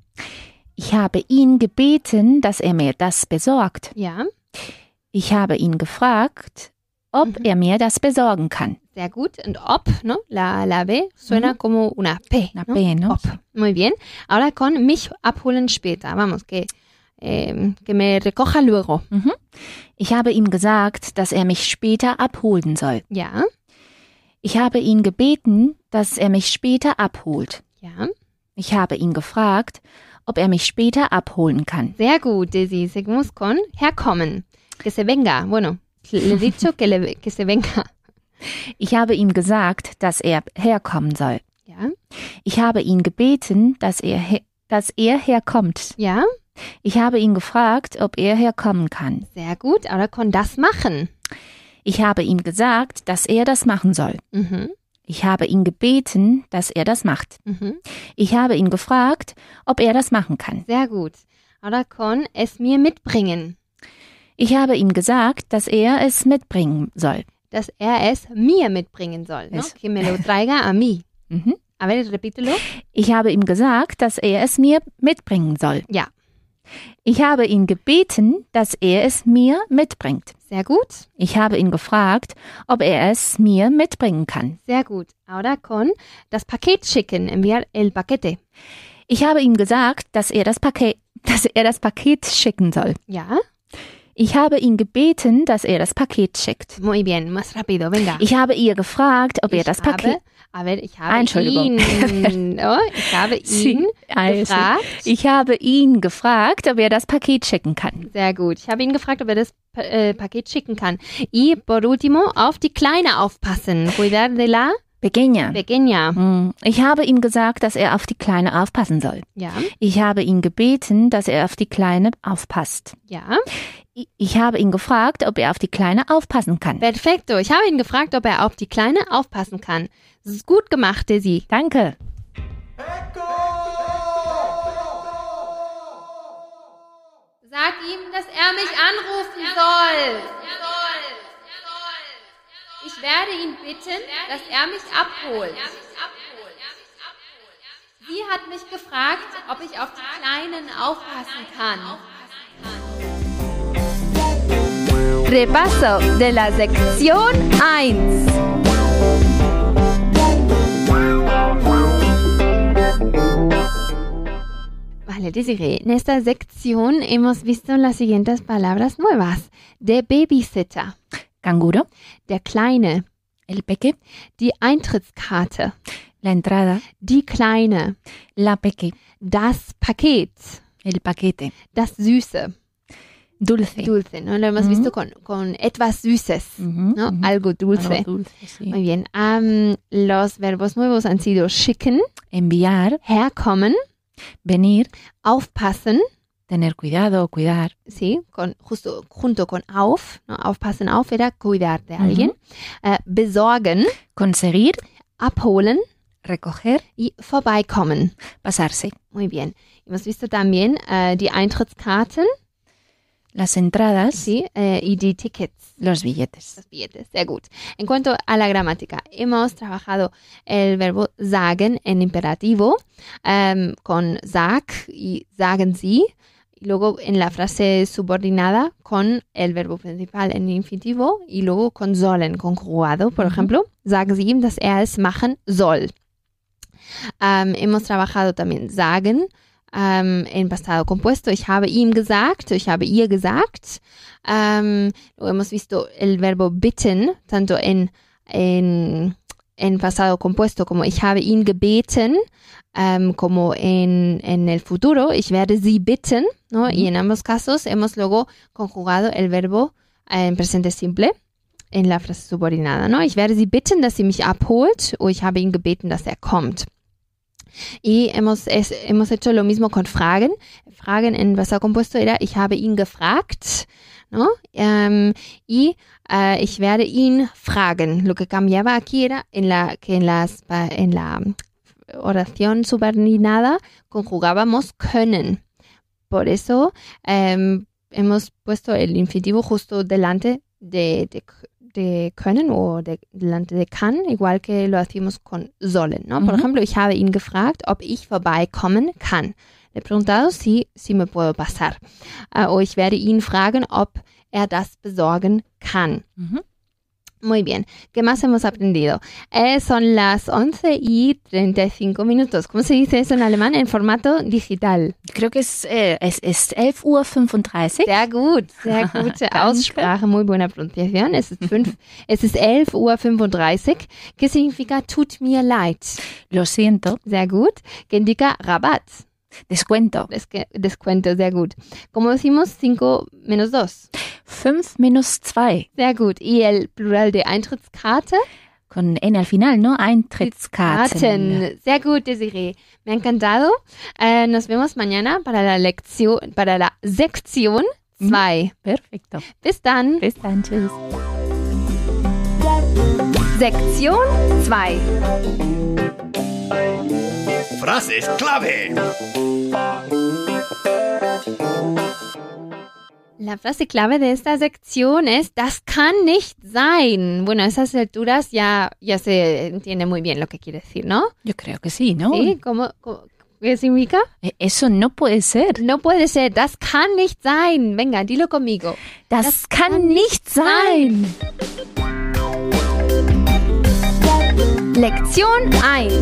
Ich habe ihn gebeten, dass er mir das besorgt. ja, Ich habe ihn gefragt, ob er mir das besorgen kann. Sehr gut. Und ob, ¿no? La, la B suena Mhm. como una P. Una ¿no? P, ¿no? Ob. Muy bien. Ahora con mich abholen später. Vamos, que, eh, que me recoja luego. Mhm. Ich habe ihm gesagt, dass er mich später abholen soll. Ja, Ich habe ihn gebeten, dass er mich später abholt. ja. Ich habe ihn gefragt, ob er mich später abholen kann. Sehr gut, Daisy. Seguimos con herkommen. Que se venga. Bueno, le he dicho que, le, que se venga. Ich habe ihm gesagt, dass er herkommen soll. Ja, Ich habe ihn gebeten, dass er, he- dass er herkommt. ja. Ich habe ihn gefragt, ob er herkommen kann. Sehr gut. Ahora con das machen. Ich habe ihm gesagt, dass er das machen soll. Mhm, Ich habe ihn gebeten, dass er das macht. mhm. Ich habe ihn gefragt, ob er das machen kann. Sehr gut. Ahora con es mir mitbringen. Ich habe ihm gesagt, dass er es mitbringen soll. Dass er es mir mitbringen soll. ¿No? Es- Que me lo traiga a mí. Mhm. A ver, repítelo. Ich habe ihm gesagt, dass er es mir mitbringen soll. Ja, Ich habe ihn gebeten, dass er es mir mitbringt. sehr gut. Ich habe ihn gefragt, ob er es mir mitbringen kann. Sehr gut. Ahora con das Paket schicken. Enviar el paquete. Ich habe ihm gesagt, dass er das Paket, dass er das Paket schicken soll. Ja, Ich habe ihn gebeten, dass er das Paket schickt. muy bien. Más rápido. Venga. Ich habe ihr gefragt, ob er Ich das Paket. habe, a ver, ich habe Ah, Entschuldigung. ihn, oh, ich habe ihn Also, gefragt. ich habe ihn gefragt, ob er das Paket schicken kann. Sehr gut. Ich habe ihn gefragt, ob er das Pa- äh, Paket schicken kann. Y por último, auf die Kleine aufpassen. Cuidar de la Pequeña. pequeña. Hm. Ich habe ihm gesagt, dass er auf die Kleine aufpassen soll. Ja, Ich habe ihn gebeten, dass er auf die Kleine aufpasst. ja. I- Ich habe ihn gefragt, ob er auf die Kleine aufpassen kann. Perfekto. Ich habe ihn gefragt, ob er auf die Kleine aufpassen kann. Das ist gut gemacht, Daisy. Danke. Sag ihm, dass er mich anrufen soll. Ich werde ihn bitten, dass er mich abholt. Sie hat mich gefragt, ob ich auf die Kleinen aufpassen kann. Repaso de la sección eins. Vale, Desiree, en esta sección hemos visto las siguientes palabras nuevas. Der Babysitter, Canguro, der Kleine, el peque, die Eintrittskarte, la entrada, die Kleine, la peque, das Paket, el paquete, das Süße, dulce. dulce, ¿no? Lo hemos Ujú. visto con, con etwas Süßes, Ujú, ¿no? ujú. Algo dulce. Algo dulce, sí. Muy bien. Am, los verbos nuevos han sido schicken, Enviar, herkommen, venir, aufpassen, tener cuidado o cuidar. sí, con, justo junto con auf, ¿no? Aufpassen auf era cuidar de alguien, äh, besorgen, Conseguir, abholen recoger, y vorbeikommen. pasarse. Muy bien. Hemos visto también äh, die Eintrittskarten, Las entradas, sí, äh, y die Tickets. los billetes. Los billetes, sehr gut. En cuanto a la gramática, hemos trabajado el verbo sagen en imperativo ähm, con sag y sagen Sie. Y luego en la frase subordinada con el verbo principal en infinitivo y luego con sollen, conjugado. Por Ujú. ejemplo, sagen Sie ihm, dass er es machen soll. Ähm, hemos trabajado también sagen ähm, en pasado compuesto. Ich habe ihm gesagt, ich habe ihr gesagt. Ähm, luego hemos visto el verbo bitten, tanto en, en, en pasado compuesto como ich habe ihn gebeten, ähm, como en, en el futuro, ich werde sie bitten, ¿no? Ujú. Y en ambos casos hemos luego conjugado el verbo äh, en presente simple en la frase subordinada, ¿no? Ich werde sie bitten, dass sie mich abholt, o ich habe ihn gebeten, dass er kommt. Y hemos, es, hemos hecho lo mismo con Fragen. Fragen en pasado compuesto era, ich habe ihn gefragt, ¿no? Um, y uh, ich werde ihn fragen. Lo que cambiaba aquí era en la, que en, las, en la oración subordinada conjugábamos können. Por eso um, hemos puesto el infinitivo justo delante de, de, de können o de, delante de kann, igual que lo hacíamos con sollen, ¿no? Por Ujú. ejemplo, ich habe ihn gefragt, ob ich vorbeikommen kann. Le he preguntado si, si me puedo pasar. Uh, o ich werde ihn fragen, ob er das besorgen kann. Mhm. Muy bien. ¿Qué más hemos aprendido? Eh, son las once y treinta y cinco minutos. ¿Cómo se dice eso en alemán? En formato digital. Creo que es, eh, es, es elf Uhr fünfunddreißig. Sehr gut, sehr gute Aussprache, muy buena pronunciación. Es ist, fünf, es ist elf Uhr fünfunddreißig, que significa tut mir leid. Lo siento. Sehr gut, que indica Rabatt. Descuento. Des- descuento, sehr gut. Como decimos, cinco menos dos. Fünf menos zwei. Sehr gut. Y el plural de Eintrittskarte? Con N al final, ¿no? Eintrittskarten. Karten. Sehr gut, Desiree. Me ha encantado. Eh, nos vemos mañana para la lección, para la Sektion zwei. Perfecto. Bis dann. Bis dann. Tschüss. Sektion zwei. Frases clave. La frase clave de esta sección es das kann nicht sein. Bueno, a esas alturas ya, ya se entiende muy bien lo que quiere decir, ¿no? Yo creo que sí, ¿no? ¿Sí? ¿Cómo, cómo- qué significa? Eh, Eso no puede ser. No puede ser. Das kann nicht sein. Venga, dilo conmigo. Das, Das kann, kann nicht sein. Lección uno.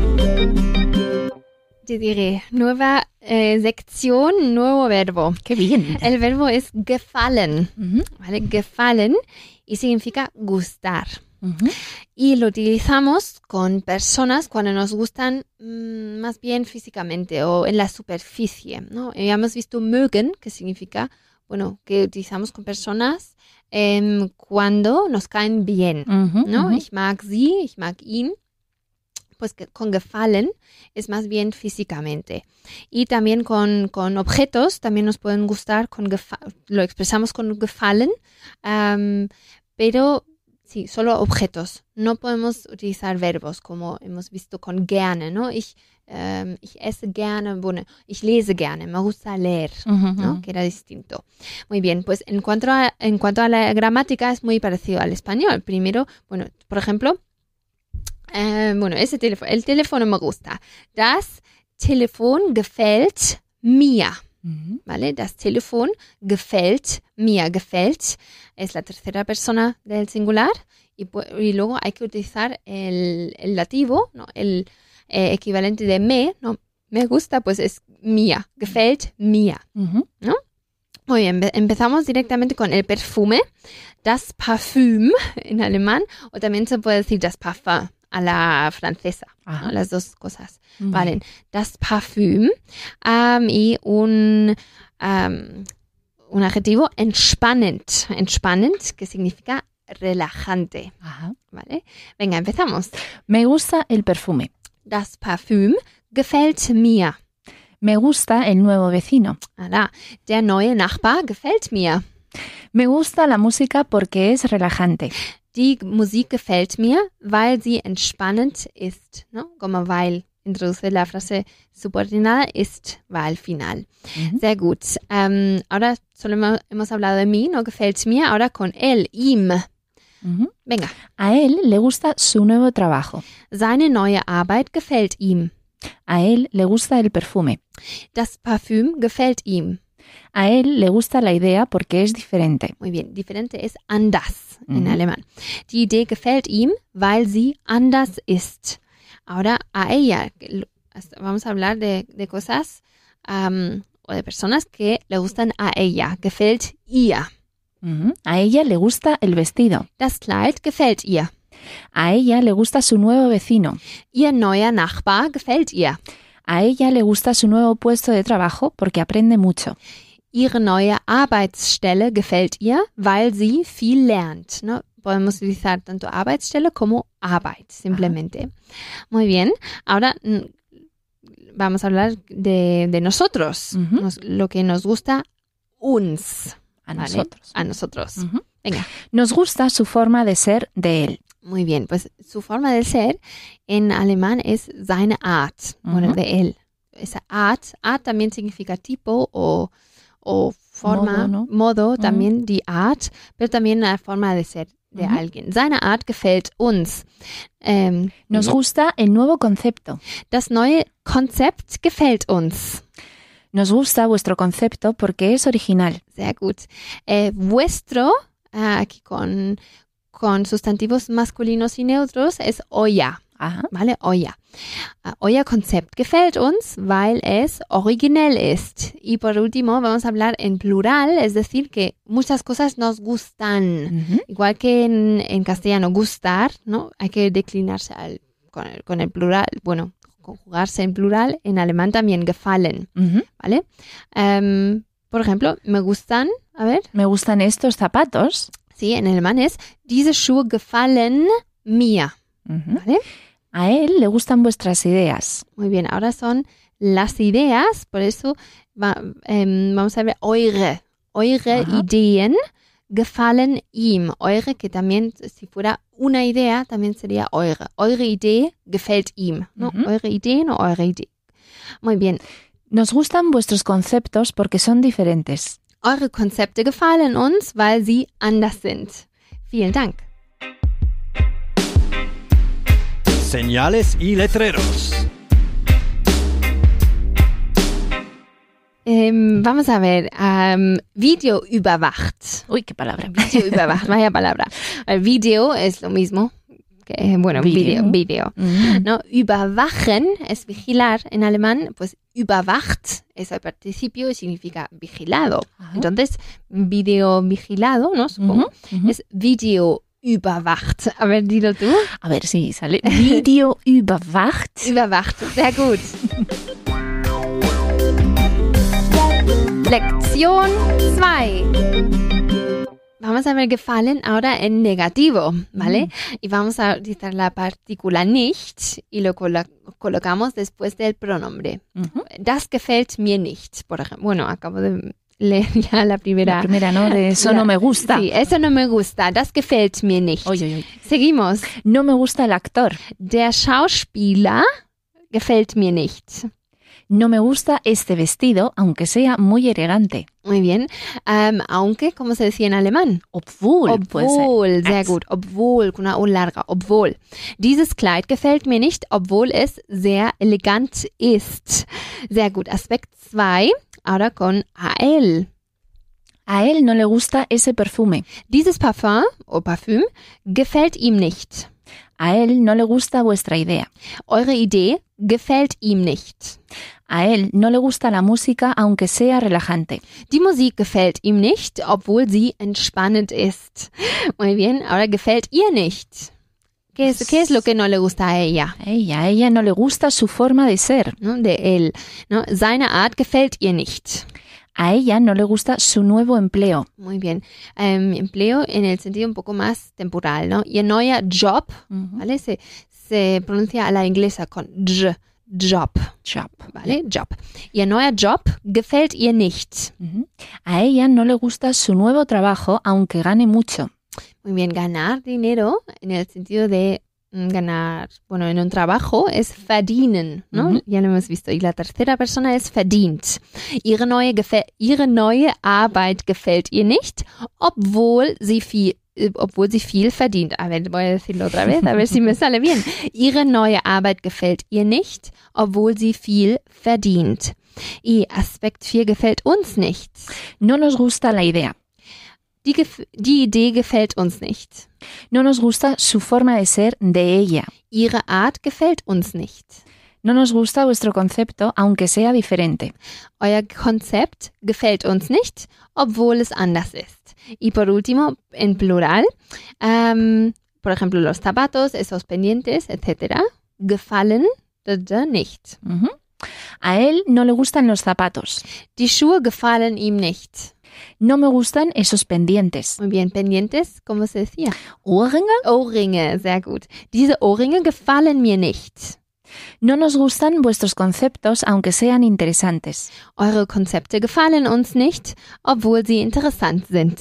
Te diré, nueva eh, sección, nuevo verbo. Qué bien. El verbo es gefallen, Ujú, ¿vale? Gefallen y significa gustar. ujú. Y lo utilizamos con personas cuando nos gustan mm, más bien físicamente o en la superficie, ¿no? Ya hemos visto mögen, que significa, bueno, que utilizamos con personas em, cuando nos caen bien, Ujú, ¿no? ujú. Ich mag sie, ich mag ihn. Pues que con gefallen es más bien físicamente. Y también con, con objetos, también nos pueden gustar, con gefa- lo expresamos con gefallen, am, pero sí, solo objetos. No podemos utilizar verbos como hemos visto con gerne, ¿no? Ich, ähm, ich esse gerne, bueno, ich lese gerne, me gusta leer, Ujú, ¿no? ujú. Que era distinto. Muy bien, pues en cuanto a, en cuanto a la gramática es muy parecido al español. Primero, bueno, por ejemplo, eh, bueno, ese teléfono, el teléfono me gusta. Das Telefon gefällt mir. Ujú. ¿Vale? Das Telefon gefällt mir. Gefällt es la tercera persona del singular y, pu- y luego hay que utilizar el, el dativo, ¿no? El eh, equivalente de me, ¿no? Me gusta, pues es mir. Gefällt mir. Ujú. Muy bien, empe- empezamos directamente con el perfume, das Parfüm en alemán, o también se puede decir das Parfum a la francesa, Ajá. ¿no? Las dos cosas Ujú. valen. Das Parfüm am, y un, am, un adjetivo entspannend, entspannend, que significa relajante, Ajá. ¿vale? Venga, empezamos. Me gusta el perfume. Das Parfüm gefällt mir. Me gusta el nuevo vecino. Ala, der neue Nachbar gefällt mir. Me gusta la música porque es relajante. Die Musik gefällt mir, weil sie entspannend ist, ¿no? Como weil introduce la frase subordinada, ist, weil final. Ujú. Sehr gut. Ähm, ahora solo hemos, hemos hablado de mí, ¿no? Gefällt mir. Ahora con él, ihm. Ujú. Venga. A él le gusta su nuevo trabajo. Seine neue Arbeit gefällt ihm. A él le gusta el perfume. Das Parfüm gefällt ihm. A él le gusta la idea porque es diferente. Muy bien. Diferente es anders en Ujú. alemán. Die Idee gefällt ihm, weil sie anders ist. Ahora a ella. que lo- Vamos a hablar de, de cosas am, o de personas que le gustan a ella. Gefällt ihr. Ujú. A ella le gusta el vestido. Das Kleid gefällt ihr. A ella le gusta su nuevo vecino. Ihr neuer Nachbar gefällt ihr. A ella le gusta su nuevo puesto de trabajo porque aprende mucho. Ihre neue Arbeitsstelle gefällt ihr, weil sie viel lernt. ¿No? Podemos utilizar tanto Arbeitsstelle como Arbeit, simplemente. Muy bien. Ahora mm, vamos a hablar de, de nosotros, Ujú. Nos- lo que nos gusta uns. A ¿vale? nosotros. A nosotros. Ujú. Venga. Nos gusta su forma de ser de él. Muy bien, pues su forma de ser en alemán es seine Art, bueno, Ujú. de él. Esa Art, Art también significa tipo o, o forma, Modo, ¿no? modo, Ujú. también die Art, pero también la forma de ser de Ujú. alguien. Seine Art gefällt uns. Ähm, Nos gusta el nuevo concepto. das neue Konzept gefällt uns. Nos gusta vuestro concepto porque es original. Sehr gut. Äh, vuestro, äh, aquí con, con sustantivos masculinos y neutros es euer. Ajá. ¿Vale? Euer. Uh, euer Konzept gefällt uns, weil es originell ist. Y por último, vamos a hablar en plural, es decir, que muchas cosas nos gustan. Ujú. Igual que en, en castellano, gustar, ¿no? Hay que declinarse al, con, el, con el plural, bueno, conjugarse en plural. En alemán también gefallen, Ujú. ¿vale? Um, por ejemplo, me gustan, a ver, Me gustan estos zapatos. sí, en alemán es, diese Schuhe gefallen mir, Ujú. ¿vale? A él le gustan vuestras ideas. Muy bien, ahora son las ideas, por eso va, ähm, vamos a ver eure, eure Ajá. Ideen gefallen ihm, eure que también si fuera una idea también sería eure, eure Idee gefällt ihm, ¿no? Ujú. Eure Ideen o eure Idee. Muy bien, Nos gustan vuestros conceptos porque son diferentes. eure Konzepte gefallen uns, weil sie anders sind. Vielen Dank. Señales y letreros. Ähm, vamos a ver, ähm, Video überwacht. Uy, qué palabra. Video überwacht, vaya palabra. El video es lo mismo que, bueno, Video. video, video. Ujú. ¿No? Überwachen es vigilar. En alemán, pues überwacht es el participio y significa vigilado. Ajá. Entonces, video vigilado, ¿no? Supongo, Ujú, ujú. es video überwacht. A ver, dilo tú. A ver si sale. Video überwacht. Überwacht, sehr gut. Lección dos. Vamos a ver gefallen ahora en negativo, ¿vale? Y vamos a utilizar la partícula nicht y lo colo- colocamos después del pronombre. Ujú. Das gefällt mir nicht, por ejemplo. Bueno, acabo de leer ya la primera. La primera, ¿no? De eso La- no me gusta. Sí, eso no me gusta. Das gefällt mir nicht. Oye, oye, oye. Seguimos. No me gusta el actor. Der Schauspieler gefällt mir nicht. No me gusta este vestido, aunque sea muy elegante. Muy bien. Ähm, aunque, ¿cómo se decía en alemán? Obwohl, puede ser. Obwohl, sehr Ex. gut. Obwohl, con una U larga. Obwohl. Dieses Kleid gefällt mir nicht, obwohl es sehr elegant ist. Sehr gut. Aspekt zwei. Ahora con a él. A él no le gusta ese perfume. Dieses Parfum o Parfüm gefällt ihm nicht. A él no le gusta vuestra idea. Eure Idee gefällt ihm nicht. A él no le gusta la música, aunque sea relajante. Die Musik gefällt ihm nicht, obwohl sie entspannend ist. Muy bien. Ahora gefällt ihr nicht. ¿Qué es, qué es lo que no le gusta a ella? A ella, a ella no le gusta su forma de ser. ¿No? De él. ¿No? Seine Art gefällt ihr nicht. A ella no le gusta su nuevo empleo. Muy bien. Ähm, empleo en el sentido un poco más temporal, ¿no? Ihr neuer Job, ¿vale? Se, se pronuncia a la inglesa con j, job, Job. ¿vale? Job. Ihr neuer Job gefällt ihr nicht. Ujú. A ella no le gusta su nuevo trabajo, aunque gane mucho. Muy bien, ganar dinero en el sentido de mm, ganar, bueno, en un trabajo es verdienen, ¿no? Ujú. Ya lo hemos visto. Y la tercera persona es verdient. Ihre neue, gefä- ihre neue Arbeit gefällt ihr nicht, obwohl sie viel äh, obwohl sie viel verdient. A ver, voy a decirlo otra vez, a ver si me sale bien. Ihre neue Arbeit gefällt ihr nicht, obwohl sie viel verdient. Y Aspekt vier gefällt uns nicht. No nos gusta la idea. Die, gef- die Idee gefällt uns nicht. No nos gusta su forma de ser de ella. Ihre Art gefällt uns nicht. No nos gusta vuestro concepto, aunque sea diferente. Euer Konzept gefällt uns nicht, obwohl es anders ist. Y por último, en plural, ähm, por ejemplo, los zapatos, esos pendientes, etcétera, gefallen da, da nicht. Ujú. A él no le gustan los zapatos. Die Schuhe gefallen ihm nicht. No me gustan esos pendientes. Muy bien, pendientes, ¿cómo se decía? Ohrringe. Ohrringe, sehr gut. Diese Ohrringe gefallen mir nicht. No nos gustan vuestros conceptos, aunque sean interesantes. Eure Konzepte gefallen uns nicht, obwohl sie interessant sind.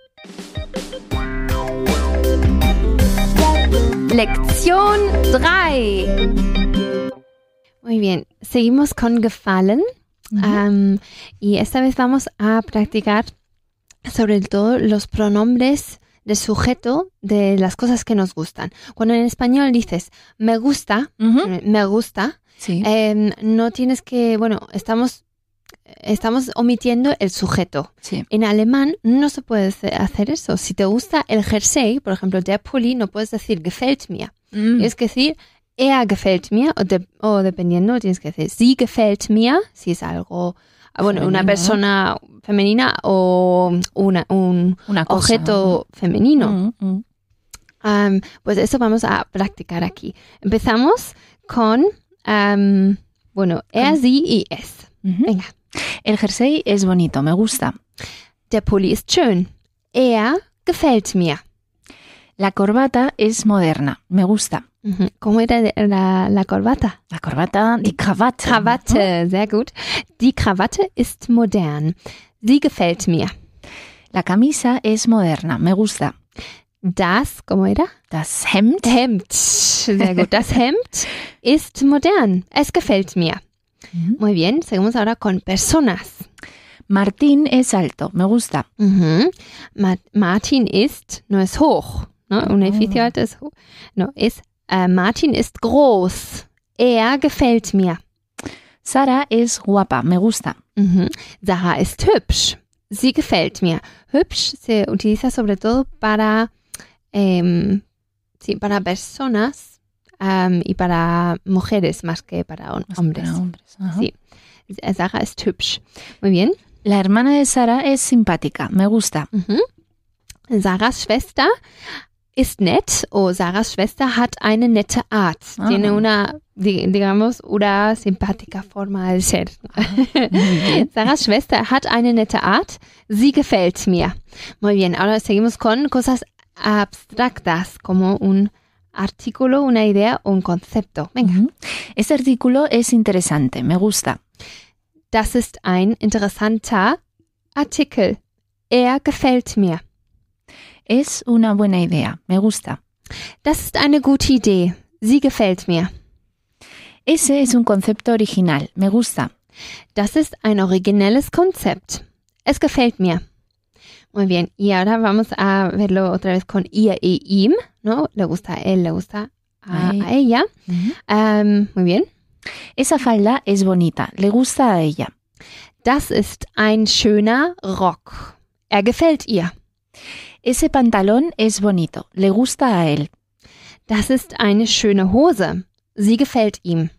Lección tres. Muy bien, seguimos con gefallen. Um, y esta vez vamos a practicar sobre todo los pronombres de sujeto de las cosas que nos gustan. Cuando en español dices me gusta, Ujú. me gusta, Sí. eh, no tienes que, bueno, estamos estamos omitiendo el sujeto. Sí. En alemán no se puede hacer eso. Si te gusta el jersey, por ejemplo, der Pulli, no puedes decir gefällt mir. Mm. Tienes que decir er gefällt mir o, de, o dependiendo tienes que decir sie gefällt mir, si es algo, bueno, Femenino, una persona femenina o una, un Una cosa, objeto femenino. Mm, mm. Um, pues eso vamos a practicar aquí. Empezamos con, um, bueno, er, sie y es. Ujú. Venga. El jersey es bonito, me gusta. Der Pulli ist schön. Er gefällt mir. La corbata es moderna, me gusta. Mhm. ¿Cómo era de- la, la corbata? La corbata, die Krawatte. Krawatte, sehr gut. Die Krawatte ist modern. Sie gefällt mir. La camisa es moderna, me gusta. Das, ¿cómo era? Das Hemd Hemd. Sehr gut. Das Hemd ist modern. Es gefällt mir. Mhm. Muy bien. Seguimos ahora con personas. Martín es alto, me gusta. Mhm. Ma- Martin ist, no es hoch. ¿No? Un edificio alto es hoch. No, es, äh, Martin ist groß. Er gefällt mir. Sara es guapa, me gusta. Mhm. Sarah ist hübsch. Sie gefällt mir. Hübsch se utiliza sobre todo para, em, sí, para personas em, y para mujeres más que para hom- Más hombres. para hombres, ajá. Sí. Sarah ist hübsch. Muy bien. La hermana de Sara es simpática, me gusta. Mhm. Sarahs Schwester ist nett. O Sarahs Schwester hat eine nette Art. Ah. Tiene una, di- digamos, una simpática forma de ser. Muy bien. Sarahs Schwester hat eine nette Art. Sie gefällt mir. Muy bien, ahora seguimos con cosas abstractas, como un artículo, una idea o un concepto. Venga. Ujú. Este artículo es interesante, me gusta. Das ist ein interessanter Artikel. Er gefällt mir. Es una buena idea, me gusta. Das ist eine gute Idee. Sie gefällt mir. Ese es un concepto original, me gusta. Das ist ein originelles Konzept. Es gefällt mir. Muy bien, y ahora vamos a verlo otra vez con ihr y ihm, ¿no? Le gusta a él, le gusta a, Ay. a ella. Ujú. Ähm, muy bien. Esa falda es bonita, le gusta a ella. Das ist ein schöner Rock. Er gefällt ihr. Ese pantalón es bonito, le gusta a él. Das ist eine schöne Hose. Sie gefällt ihm.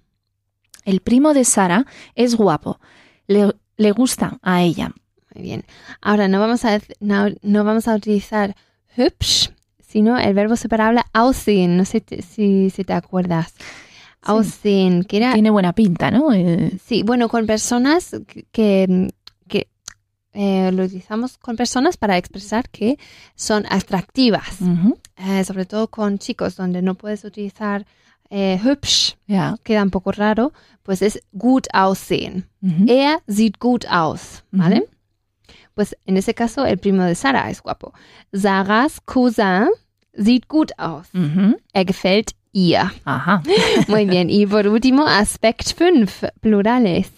El primo de Sara es guapo, le, le gusta a ella. Muy bien. Ahora no vamos a, no, no vamos a utilizar hübsch, sino el verbo separable aussehen. No sé te- si, si te acuerdas. Aussehen, que era... Tiene buena pinta, ¿no? Eh, Sí, bueno, con personas que, que eh, lo utilizamos con personas para expresar que son atractivas. ujú. Eh, sobre todo con chicos, donde no puedes utilizar eh, hübsch, Ja. queda un poco raro, pues es gut aussehen. Ujú. Er sieht gut aus, ¿vale? Pues en ese caso el primo de Sarah es guapo. Sarahs Cousin sieht gut aus. Ujú. Er gefällt ihr. Ajá. Muy bien. Y por último, Aspekt fünf, plurales.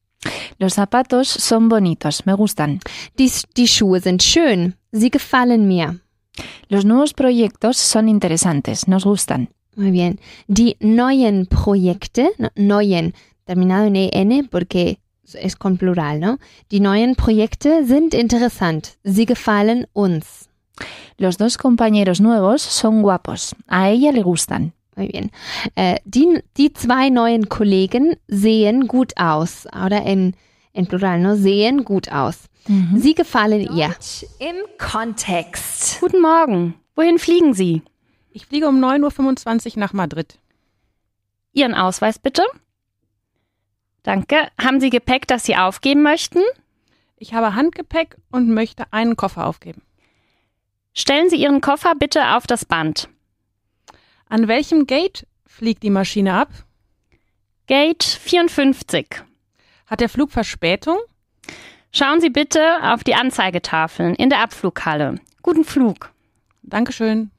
Los zapatos son bonitos, me gustan. Die, die Schuhe sind schön. Sie gefallen mir. Los nuevos proyectos son interesantes, nos gustan. Muy bien. Die neuen Projekte, no, neuen, terminado en en porque es con plural, ¿no? Die neuen Projekte sind interessant. Sie gefallen uns. Los dos compañeros nuevos son guapos, a ella le gustan. Muy bien. Äh, die, die zwei neuen Kollegen sehen gut aus. Ahora en, en plural, ¿no? Sehen gut aus. Ujú. Sie gefallen ihr. Im Kontext. Guten Morgen. Wohin fliegen Sie? Ich fliege um neun Uhr fünfundzwanzig nach Madrid. Ihren Ausweis bitte. Danke. Haben Sie Gepäck, das Sie aufgeben möchten? Ich habe Handgepäck und möchte einen Koffer aufgeben. Stellen Sie Ihren Koffer bitte auf das Band. An welchem Gate fliegt die Maschine ab? Gate vierundfünfzig. Hat der Flug Verspätung? Schauen Sie bitte auf die Anzeigetafeln in der Abflughalle. Guten Flug. Dankeschön.